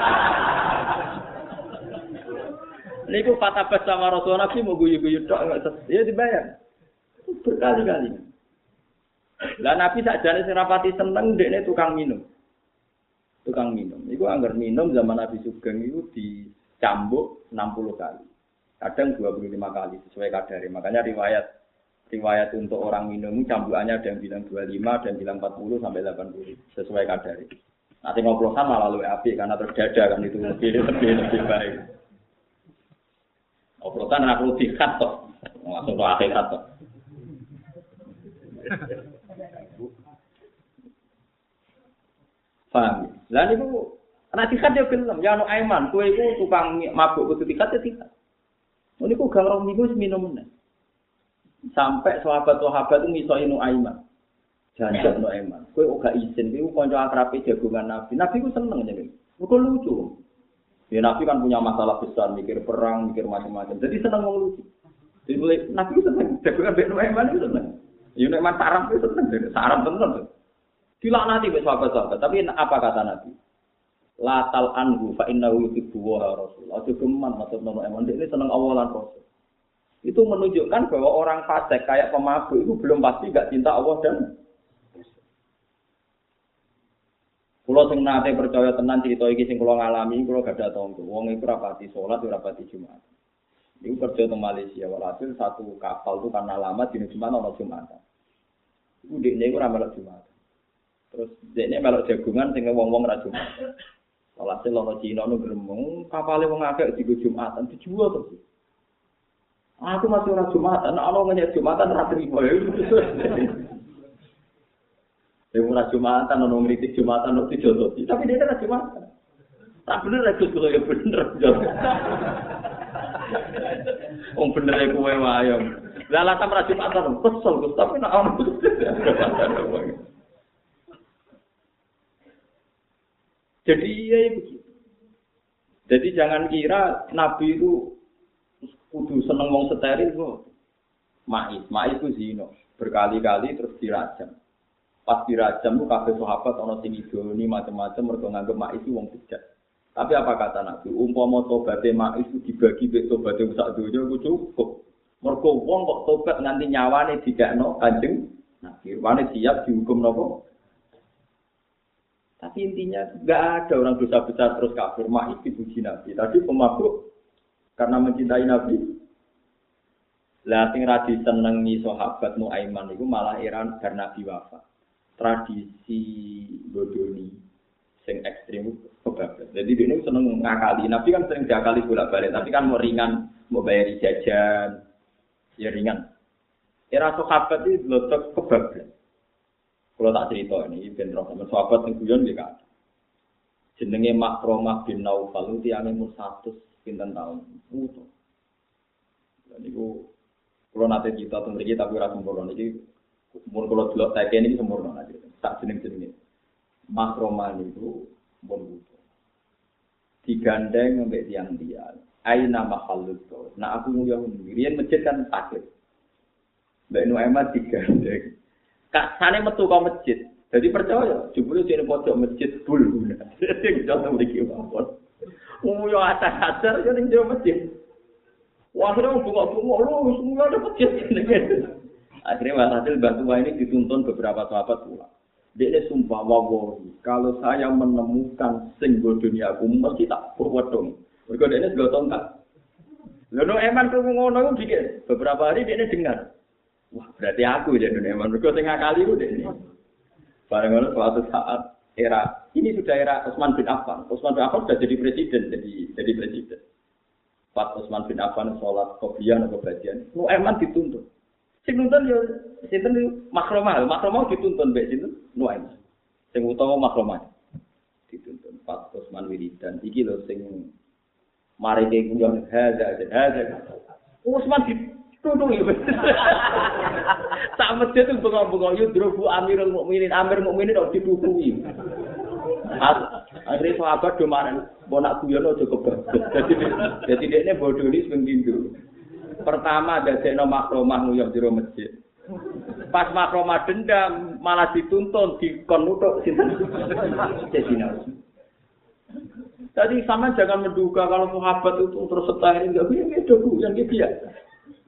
Niku fatabas sama Rasulullah Nabi mau guyu-guyu tok ya dibayar. Berkali-kali. Lah Nabi sakjane sing rapati seneng dekne tukang minum. Tukang minum. Iku anggar minum zaman Nabi Sugeng itu dicambuk 60 kali. Kadang 25 kali sesuai kadarnya. Makanya riwayat untuk orang minum cambukannya ada yang bilang 25, ada yang bilang 40 sampai 80 sesuai kadarnya. Nanti ngoplosan malah lebih apik karena terdada kan itu lebih baik. Oplosan anak perlu dikat toh, langsung ke akhirat toh. Paham? Lah niku anak dikat dia film, ya Nuaiman, kowe iku tukang mabuk kudu dikat ya dikat. Niku gang rong minggu minum meneh. Sampai sahabat-sahabat itu misoi Nuaiman. Janjak Nuaiman, kowe ora izin kowe kanca akrabe jagongan Nabi. Nabi ku seneng jenenge. Mergo lucu. Ya Nabi kan punya masalah besar, mikir perang, mikir macam-macam. Jadi senang ngomong lucu. Jadi Nabi itu senang. Jagungan Mbak Nuaiman itu senang. Ya Nuaiman sarap itu senang. Sarap tenang. Dilaknati oleh sahabat-sahabat. Tapi apa kata Nabi? La tal anhu fa innahu yuhibbu wa rasul. Aja geman maksud Nuaiman. Ini senang Allah dan Rasul. Itu menunjukkan bahwa orang fasik kayak pemabuk itu belum pasti gak cinta Allah dan Kulo sing nate percaya tenan cerita iki sing kulo ngalami, kulo gak ada tangga. Wong iku rapati salat, ora rapati Jumat. Iku kerja teng Malaysia, walhasil satu kapal itu karena lama dina Jumat ana Jumat. Iku dekne iku ora melok Jumat. Terus dekne melok jagungan sing wong-wong ra Jumat. Walhasil ana Cina nu gremeng, kapale wong akeh digo Jumatan dijual terus. Aku masih ora Jumatan, ana ngenyek Jumatan ra trimo. Ora Jumatan, ono ngritik Jumatan, ono dijodoh. Tapi dia kan Jumatan. Tak bener lah kudu ya bener. Wong bener e kowe wae. Lah alasan ra Jumatan, kesel Gus, tapi nek ono. Jadi ya begitu. Jadi jangan kira Nabi itu kudu seneng wong steril kok. Ma'is itu zina, berkali-kali terus dirajam. Pas dirajam itu kabeh sahabat ana sing idoni macam-macam mergo nganggep Ma'is itu wong bejat. Tapi apa kata Nabi? Umpama tobaté Ma'is itu dibagi mek tobaté sak donya iku cukup. Mergo wong kok tobat nganti nyawane dikekno Kanjeng Nabi. Wane siap dihukum napa? Tapi intinya enggak ada orang dosa besar terus kafir. Ma'is dipuji Nabi. Tadi pemabuk karena mencintai Nabi. Lah sing ra disenengi sahabat Nuaiman iku malah iran bar Nabi wafat. Tradisi bodoni sing ekstrem kebablas. Jadi dia seneng ngakali. Nabi kan sering diakali bolak-balik, tapi kan mau ringan, mau bayar jajan, ya ringan. Era sahabat itu lotok kebablas. Kalau tak cerita ini, ben roh sama sahabat yang guyon dia kan. Jenenge Makromah bin Naufal itu tiyane umur 100 pinten taun. Mutu. Lan niku kula nate cita teng mriki tapi ora sempurna iki mun kula delok teke niki sempurna aja. Tak jeneng-jenenge. Makromah niku pun mutu. Digandeng mbek tiang-tiang. Aina mahallut. Nah aku nguyuh riyen masjid kan takut. Mbak Nuaiman digandeng. Kak sane metu ka masjid. Jadi percaya, jebule sing pojok masjid bul guna. Sing jono mriki mawon. Yo atas-atas yo ning jero masjid. Wah, kira bunga-bunga lu semua ada masjid. Akhirnya walhasil Mbah Tua ini dituntun beberapa sahabat pula. Dia sumpah wawahi, kalau saya menemukan sing dunia aku mesti tak purwedong. Mergo dene sego tongkat. Lha no eman krungu ngono iku dikit. Beberapa hari dia dengar. Wah, berarti aku ya dunia eman. Mergo sing ngakali ku dene. Bareng suatu saat ini sudah era Utsman bin Affan. Utsman bin Affan sudah jadi presiden. Pas Utsman bin Affan sholat qobliyah atau badian, Nuaiman dituntun. Sing nuntun yo sinten Makromah dituntun mbek sinten Nuaiman. Sing utawa Makromah dituntun. Pas Utsman wiridan iki lho sing mari ke kunjung hadza. Utsman dituntun yo. Tak masjid itu bengok-bengok yudrobu Amirul Mukminin, Amir Mukminin kok ditukuhi. Akhirnya sahabat do marang bonak guyono aja kebagus. Jadi dekne bodoni sing pindho. Pertama dadekno Makromah nguyuh jero masjid. Pas Makromah dendam malah dituntun dikon nutuk sinten. Cecina. Tadi sama jangan menduga kalau sahabat itu terus setahir enggak piye doku yang biasa.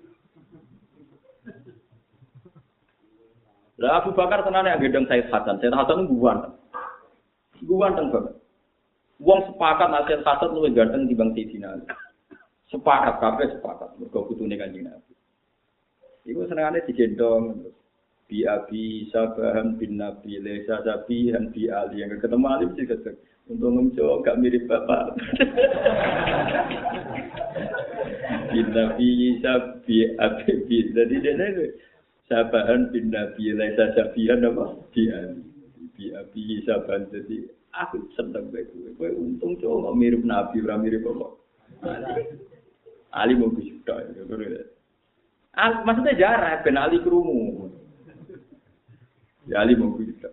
Lah Abu Bakar tenane gendong Said Hasan. Said Hasan guwan. Guwanteng banget. Wong sepakat Said Hasan luwih ganteng dibanding Sayyidina Ali. Sepakat kabeh sepakat mergo putune Kanjeng Nabi. Iku senengane digendong bi Abi Sabahan bin Nabi Lesa Sabihan bi Ali yang ketemu Ali sih ketemu. Untung ngomong gak mirip bapak. Bin Nabi Sabi Abi jadi dene Sabahan bin Nabi Laisa Sabihan apa? Bi Abi Sabahan jadi aku seneng bae kowe untung kok mirip Nabi ora mirip apa. Ali mau bisa maksudnya jarak ben Ali krungu. Ya Ali mau bisa.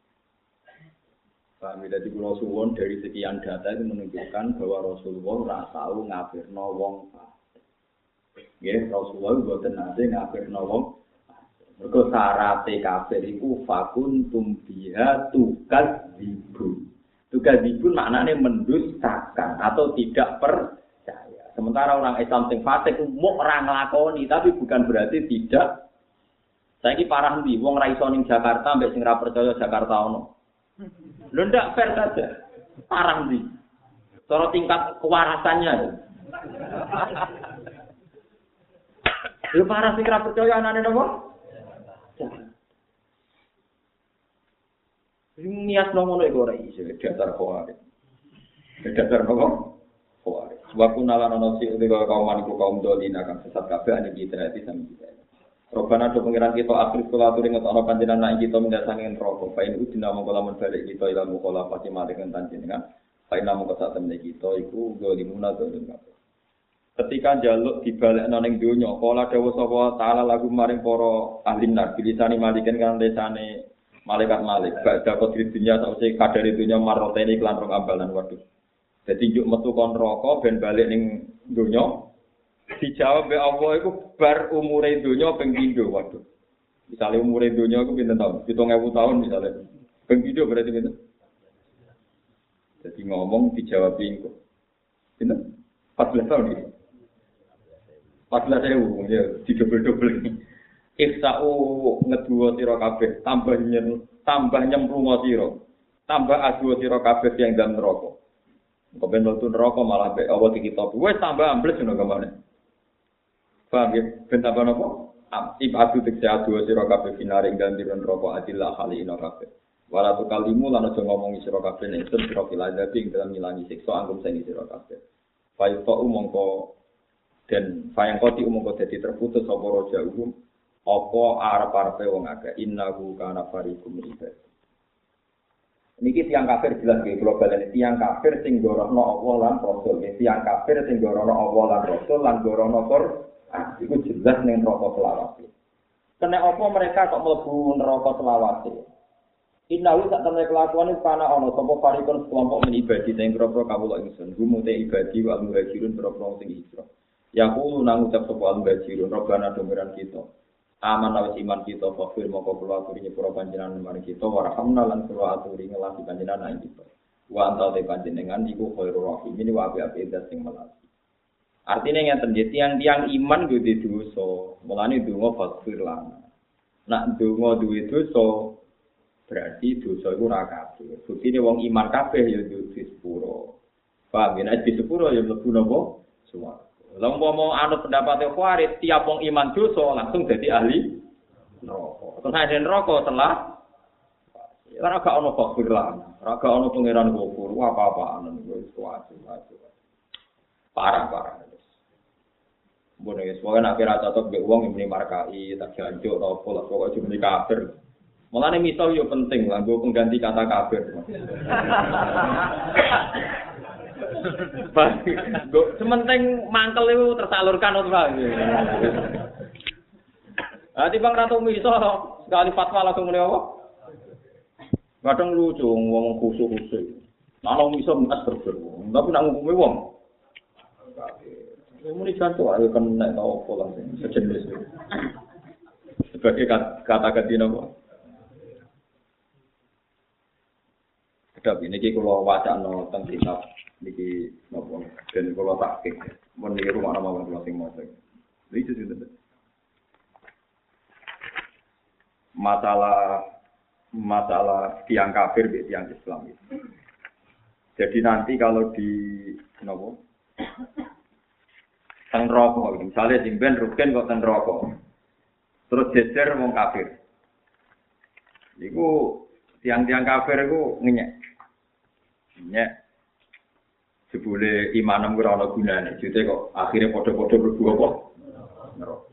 Paham jadi kula suwun dari sekian data itu menunjukkan bahwa Rasulullah ora tau ngafirno wong fasik. Nggih, Rasulullah mboten nate ngafirno wong mergo syarate kafir iku fakuntum biha tukadzibun. Tukadzibun maknane mendustakan atau tidak percaya. Sementara orang Islam sing fasik muk ora nglakoni tapi bukan berarti tidak. Saiki parah ndi wong ra iso ning Jakarta mbek sing ra percaya Jakarta ono. Lho ndak fair saja. Parah ndi. Cara tingkat kewarasannya. Lho parah sing ra percaya anane napa? Niat ngono iku ora iso dasar khawarij. Dasar nopo? Khawarij. Wa kunala ana sing kaum maniku kaum dolin akan sesat kabeh ane kita iki sami kita. Robana do pengiran kita akhir kula aturi ngetokno panjenengan nak kita mendasangen rokok. Pain uji nama kula men balik kita ilmu kula pati malih panjenengan. Pain nama kesat temne kita iku dolimuna dolim kabeh. Ketika njaluk dibalekno ning donya, kala dawuh sapa taala lagu maring para ahli nar bilisani maliken kan lesane malaikat badha kodri dunya sause kadare dunya marotene iklan rong ambalan waduh. Dadi njuk metu kon neraka ben balik ning donya dijawab be Allah iku bar umure donya ping pindho waduh. Misale umure donya iku pinten taun? 7000 tahun misale. Ping pindho berarti pinten? Dadi ngomong dijawab iku. Pinten? 14 tahun iki. 14.000 ya didobel-dobel. Iksa'u ngeduwa sira kabeh tambah nyemplungo sira. Tambah adu sira kabeh yang dalam neraka. Kok ben mlebu neraka malah mek Allah dikitopi. Wis tambah ambles ngono kemane. Paham ya? Ben tambah napa? Ibadu tekse adu sira kabeh finare dalam neraka adillah halina kabeh. Wala tu kalimu lan aja ngomongi sira kabeh nek sira kiladabi ing dalam ngilangi siksa anggum sing sira kabeh. Fayuqa mongko dan sayang koti umum jadi terputus apa roja umum apa arep-arepe wong akeh innahu kana fariqum ibad. Niki tiang kafir jelas nggih kula baleni tiang kafir sing gorohno Allah lan Rasul. Tiang kafir sing gorohno Allah lan Rasul lan gorohno Quran. Iku jelas ning neraka selawase. Kena apa mereka kok mlebu neraka selawase? Innahu sak temne kelakuan iku kana ana sapa parikon kelompok men ibadi sing kira-kira kawula ingsun. Gumute ibadi wa muhajirun kira-kira sing hijrah. Yaqulu nang ucap sapa al-muhajirun robbana dumiran kita. Aman awis iman kita fakir moko kula aturi nyepura panjenengan mari kita warhamna lan kula aturi ngelasi panjenengan ing kita. Wa anta te panjenengan iku khairur rahim ini wa api zat sing melati. Artinya ngeten nggih tiang-tiang iman yo di dosa, mulane donga fakir lan. Nak donga duwe dosa berarti dosa iku ora kabeh. Buktine wong iman kabeh yo di sepuro. Paham yen di sepuro yo mlebu napa? Suwarga. Lalu mau anut pendapatnya Khawarij, tiap wong iman dosa langsung jadi ahli neraka. Terus ada neraka setelah ora gak ono fakir lan, ora gak ono pangeran kufur, apa-apaan niku wis wae. Parah. Mbone wis pokoke nek ora cocok mbek wong yang muni markai, tak janjuk ta opo lah pokoke cuma kafir. Mulane misal yo penting lah nggo pengganti kata kafir. Sementing mangkel itu tersalurkan untuk lagi. Nanti Bang Ratu Miso sekali fatwa langsung muni apa? Kadang lucu ngomong khusus-khusus. Kalau Miso mas bergerak, tapi nak ngomongin wong. Muni jantung ayo kan nek tau apa langsung sejenis. Sebagai kata-kata napa? Kedap ini kalau wacana tentang kitab niki napa ben kula takik mun niki rumah nama kula sing maca itu sudah masalah tiang kafir be tiang Islam itu. Jadi nanti kalau di napa teng neraka misalnya simpen rugen kok teng neraka terus jejer wong kafir iku tiang-tiang kafir iku ngenyek sebule imanem ora ana gunane. Jute kok akhire padha-padha mlebu apa? Neraka.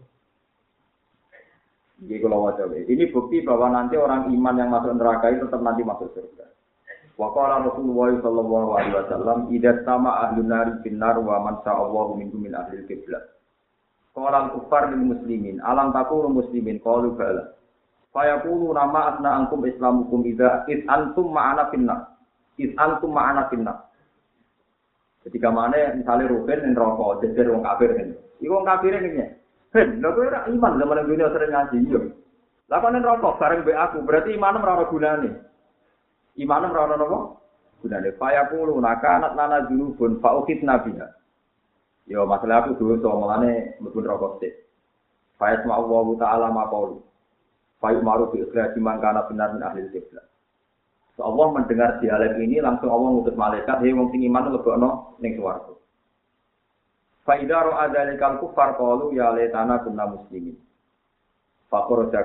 Iki kula waca. Ini bukti bahwa nanti orang iman yang masuk neraka itu tetap nanti masuk surga. Wa qala Rasulullah sallallahu alaihi wasallam, "Idza sama ahlun nari finnar wa man sa'allahu minhum min ahlil qiblah." Qala al-kuffar lil muslimin, "Alam takunu muslimin?" Qalu bala. Fa yaqulu nama asna ankum islamukum idza antum ma'ana finnar. Antum ma'ana finnar. Ketika mana misalnya Ruben yang rokok, jejer wong kafir kan. Iku wong kafir ini. Ben, lha kowe ora iman zaman dunia sering ngaji yo. Lah kok rokok bareng mbek aku, berarti imanem ora ana gunane. Imanem ora ana napa? Gunane. Fayaqulu nakanat lana dzunubun fa ukhidna biha. Yo masalah aku dosa mulane mlebu rokok sik. Fa yasma'u wa ta'ala maqalu. Fa yumaru bi ikhraj man kana benar min ahli qiblah. Allah mendengar dialek ini langsung Allah ngutus malaikat, "Hei wong sing iman lebokno ning swarga." Fa idza ra'a dzalikal kuffar qalu ya laitana kunna muslimin. Faqaraja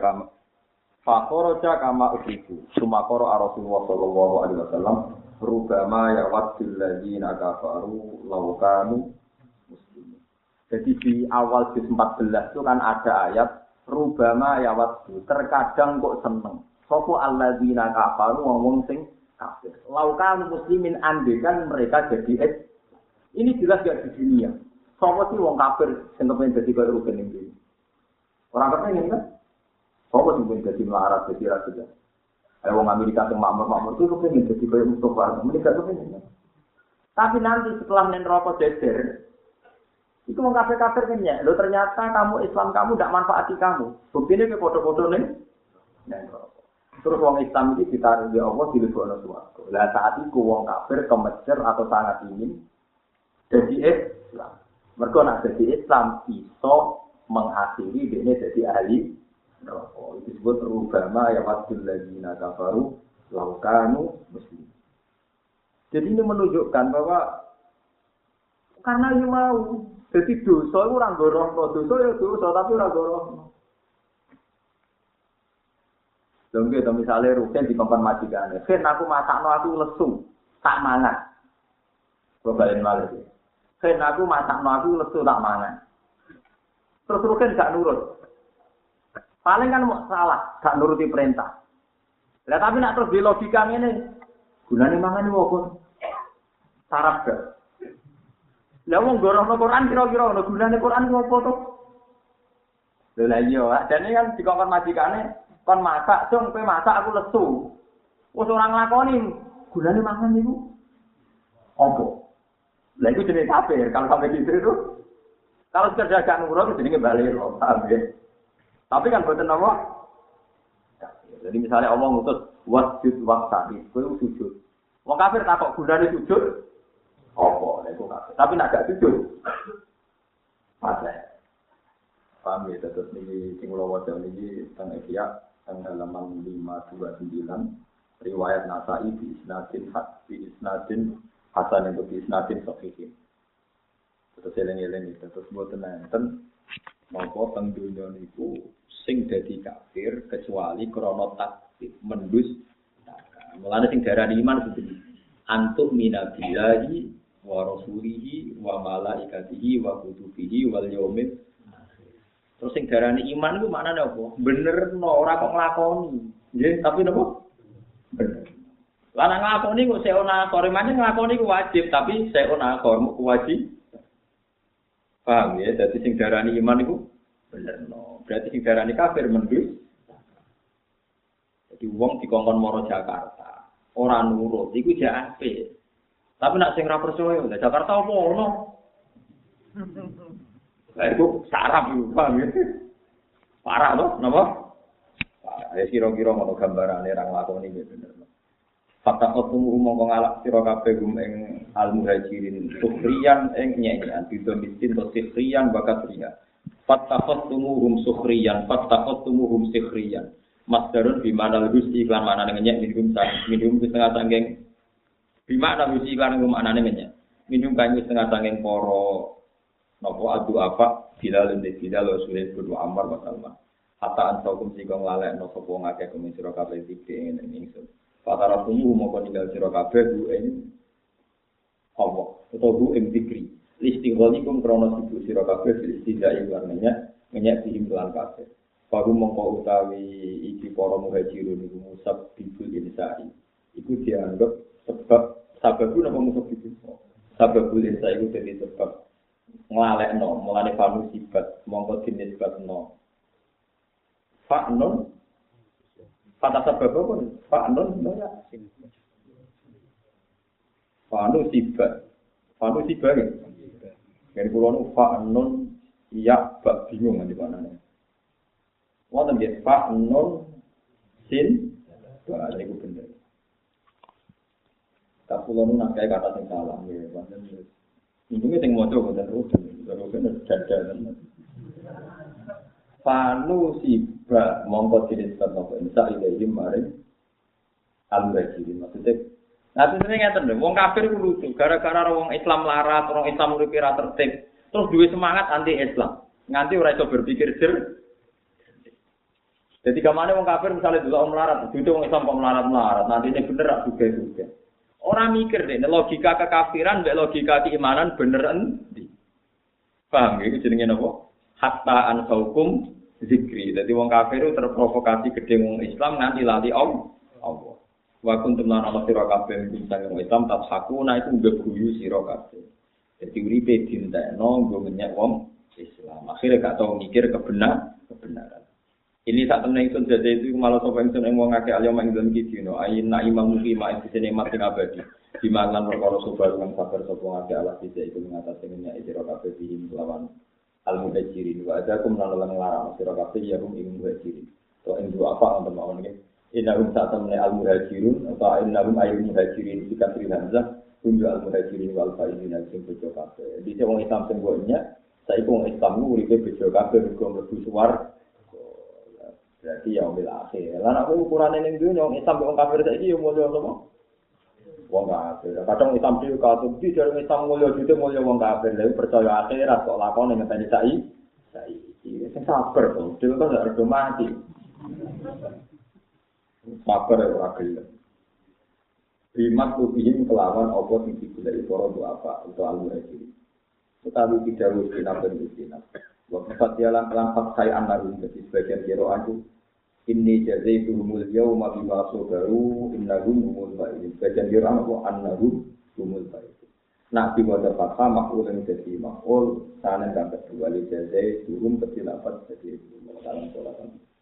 kama usiku. Sumakara Rasulullah sallallahu alaihi wasallam, "Rubama yawaddul ladzina kafaru law kanu muslimin." Jadi di awal juz 14 itu kan ada ayat rubama yawaddu, terkadang kok seneng. Sopo alladzina kafaru wong sing kafir. Laukan muslimin andekan mereka jadi ini jelas gak di dunia. Sopo sih wong kafir sing kepen dadi kaya Ruben iki. Orang kepengen kan? Sopo sing kepen dadi melarat dadi raja. Ayo wong Amerika sing makmur itu kepengen dadi kaya Mustafa. Mereka kepengen. Tapi nanti setelah neraka jejer itu wong kafir-kafir kan ya. Lo ternyata kamu Islam kamu ndak manfaati kamu. Buktinya ke foto-foto nih. Terus wong Islam ini ditaruh di Allah di lebokno swarga. Lah saat itu wong kafir kemecer atau sangat ingin jadi Islam. Mergo nek jadi Islam iso mengakhiri dene jadi ahli neraka. Itu disebut rubama ya waddul ladzina kafaru law kanu muslimin. Jadi ini menunjukkan bahwa karena ini mau jadi dosa itu ora gorohno, dosa ya dosa tapi ora gorohno. Dongge to misale Ruben dikongkon majikane. "Ken aku masakno aku lesu, tak mangan." Kok balen malih. "Ken aku masakno aku lesu tak mangan." Terus Ruben gak nurut. Paling kan mau salah, gak nuruti perintah. Lah tapi nek terus di logika ngene, Gunane mangan iku apa? Sarap gak? Lah wong gorono Quran kira-kira ono gunane Quran ku apa to? Lha lah iya, jane kan dikongkon majikane kon masak, "Cung, kowe masak aku lesu." Wes ora nglakoni, gunane mangan niku apa? Lah iku jenenge kafir, kalau sampai gitu itu. Kalau sekedar gak nurut jenenge balik lho, paham ya? Tapi kan boten apa? Jadi misalnya Allah ngutus wasjud waqtani, kowe sujud. Wong kafir takok gunane sujud apa? Lha iku kafir. Tapi nek gak sujud mate. Paham ya, terus niki sing kula waca niki teng Ihya teng halaman 529 riwayat Nasa'i bi isnadin hasan itu bi isnadin sahih. Terus eling-eling terus mboten enten napa teng donya niku sing dadi kafir kecuali krana takdir mendus. Mulane sing darani iman kudu antuk minabillahi wa rasulihi wa malaikatihi wa kutubihi wal yaumil. Terus sing darani iman iku maknane apa? Bener no ora kok nglakoni. Nggih, tapi napa? Bener. Lah nek nglakoni kok seona akor, maknane nglakoni ku wajib, tapi seona akor ku wajib. Paham ya? Dadi sing darani iman iku bener no. Berarti sing darani kafir mendus. Jadi wong dikongkon maro Jakarta, ora nurut iku jek apik. Tapi nek sing ora percaya, lah Jakarta apa ono? Lah itu sarap itu, paham ya? Parah loh, napa? Ya kira-kira ngono gambarane ra nglakoni iki bener. Fakta ketemu mongko ngalak sira kabeh gum ing al-muhajirin sukhriyan ing nyanyian bidon miskin to sukhriyan bakat ria. Fakta ketemu sukhriyan, fakta ketemu sukhriyan. Masdarun bi manal gusti iklan manane ngenyek minum setengah sangking. Bi mana gusti iklan manane ngenyek. Minum kanyu setengah sangking para napa adu apa Bilal bin Bilal Rasulullah bin Ammar wa Salman hatta antakum sing nglalekno sapa ngakeh kuwi sira kabeh iki ing ingsun fatara tumu moko ninggal sira kabeh ku ing Allah utawa ku ing zikri istigholikum krana sibuk sira kabeh istidai warnanya ngenyek diimlan kabeh baru mongko utawi iki para muhajirun iku musab bibul insai iku dianggap sebab napa musab bibul sababul insai iku dadi sebab nglalekno mulane fanu sifat mongko dinisbatno fa'nun kata sebab apa fa'nun ya fanu sifat kan kula nu fa'nun ya bak bingung di manane wonten nggih fa'nun sin ba niku bener tak kula nu nang kata sing salah nggih wonten ini sing maca boten rugen, rugen dadan. Fanu siba mongko dinisbat napa insa ilahi maring al-muhajirin maksudnya. Nah sebenarnya ngeten lho, wong kafir ku lucu, gara-gara wong Islam larat, orang Islam uripe ra tertib, terus duwe semangat anti Islam. Nganti ora iso berpikir jer. Jadi kamane wong kafir misalnya delok melarat, dudu wong Islam kok melarat-melarat, nanti ini bener ra juga. Orang mikir deh, logika kekafiran, logika keimanan bener endi. Paham ya? Itu jenenge apa? Hatta ansaukum zikri. Jadi wong kafir itu terprovokasi gede wong Islam nganti lali Allah. Wa kuntum lana sira kabeh misalnya wong Islam tabhakuna itu ngeguyu sira kabeh. Jadi uripe dintekno nggo menyek wong Islam. Akhirnya gak tau mikir kebenaran. Ini saat temen ingsun jadi itu malah sapa ingsun ing wong akeh alyoma ing dalem iki dino ayina imam muki ma ing sene mati abadi di mangan perkara sobar kang sabar sapa akeh Allah bisa iku ngatasi minyak sira kabeh bihim lawan al muhajirin wa adakum lan larang sira kabeh ya rum ing muhajirin to ing dua apa untuk mawon iki innarum saat temen al muhajirun atau innarum ayyul muhajirin dikasih hamzah kunju al muhajirin wal faizina sing bejo kabeh di wong Islam sing gonya saiki wong Islam uripe bejo kabeh mergo mlebu suwarga. Berarti ya umil akhir. Lan aku ukurane ning dunya wong Islam wong kafir saiki yo mulya sapa? Wong kafir. Kadang Islam iki katuti jare Islam mulya jute mulya wong kafir. Lha percaya akhirat kok lakone ngenteni saiki. Sing sabar to. Dhewe kok gak redo mati. Sabar ora gelem. Bimat kubihim kelawan apa sing digoleki para apa utawa al-muhajirin. Tetapi tidak harus dinampil di sini. Waktu dia lampat saya anlarum jadi sebagian kiro aku Inni jazaituhumul yawma bima sabaru innahum humul faizun. Bagian dirang wa annahum humul faizun. Nak diwaca fathah maf'ul yang jadi maf'ul sanan kang kedua li jazaituhum ketilapat jadi dalam sholat.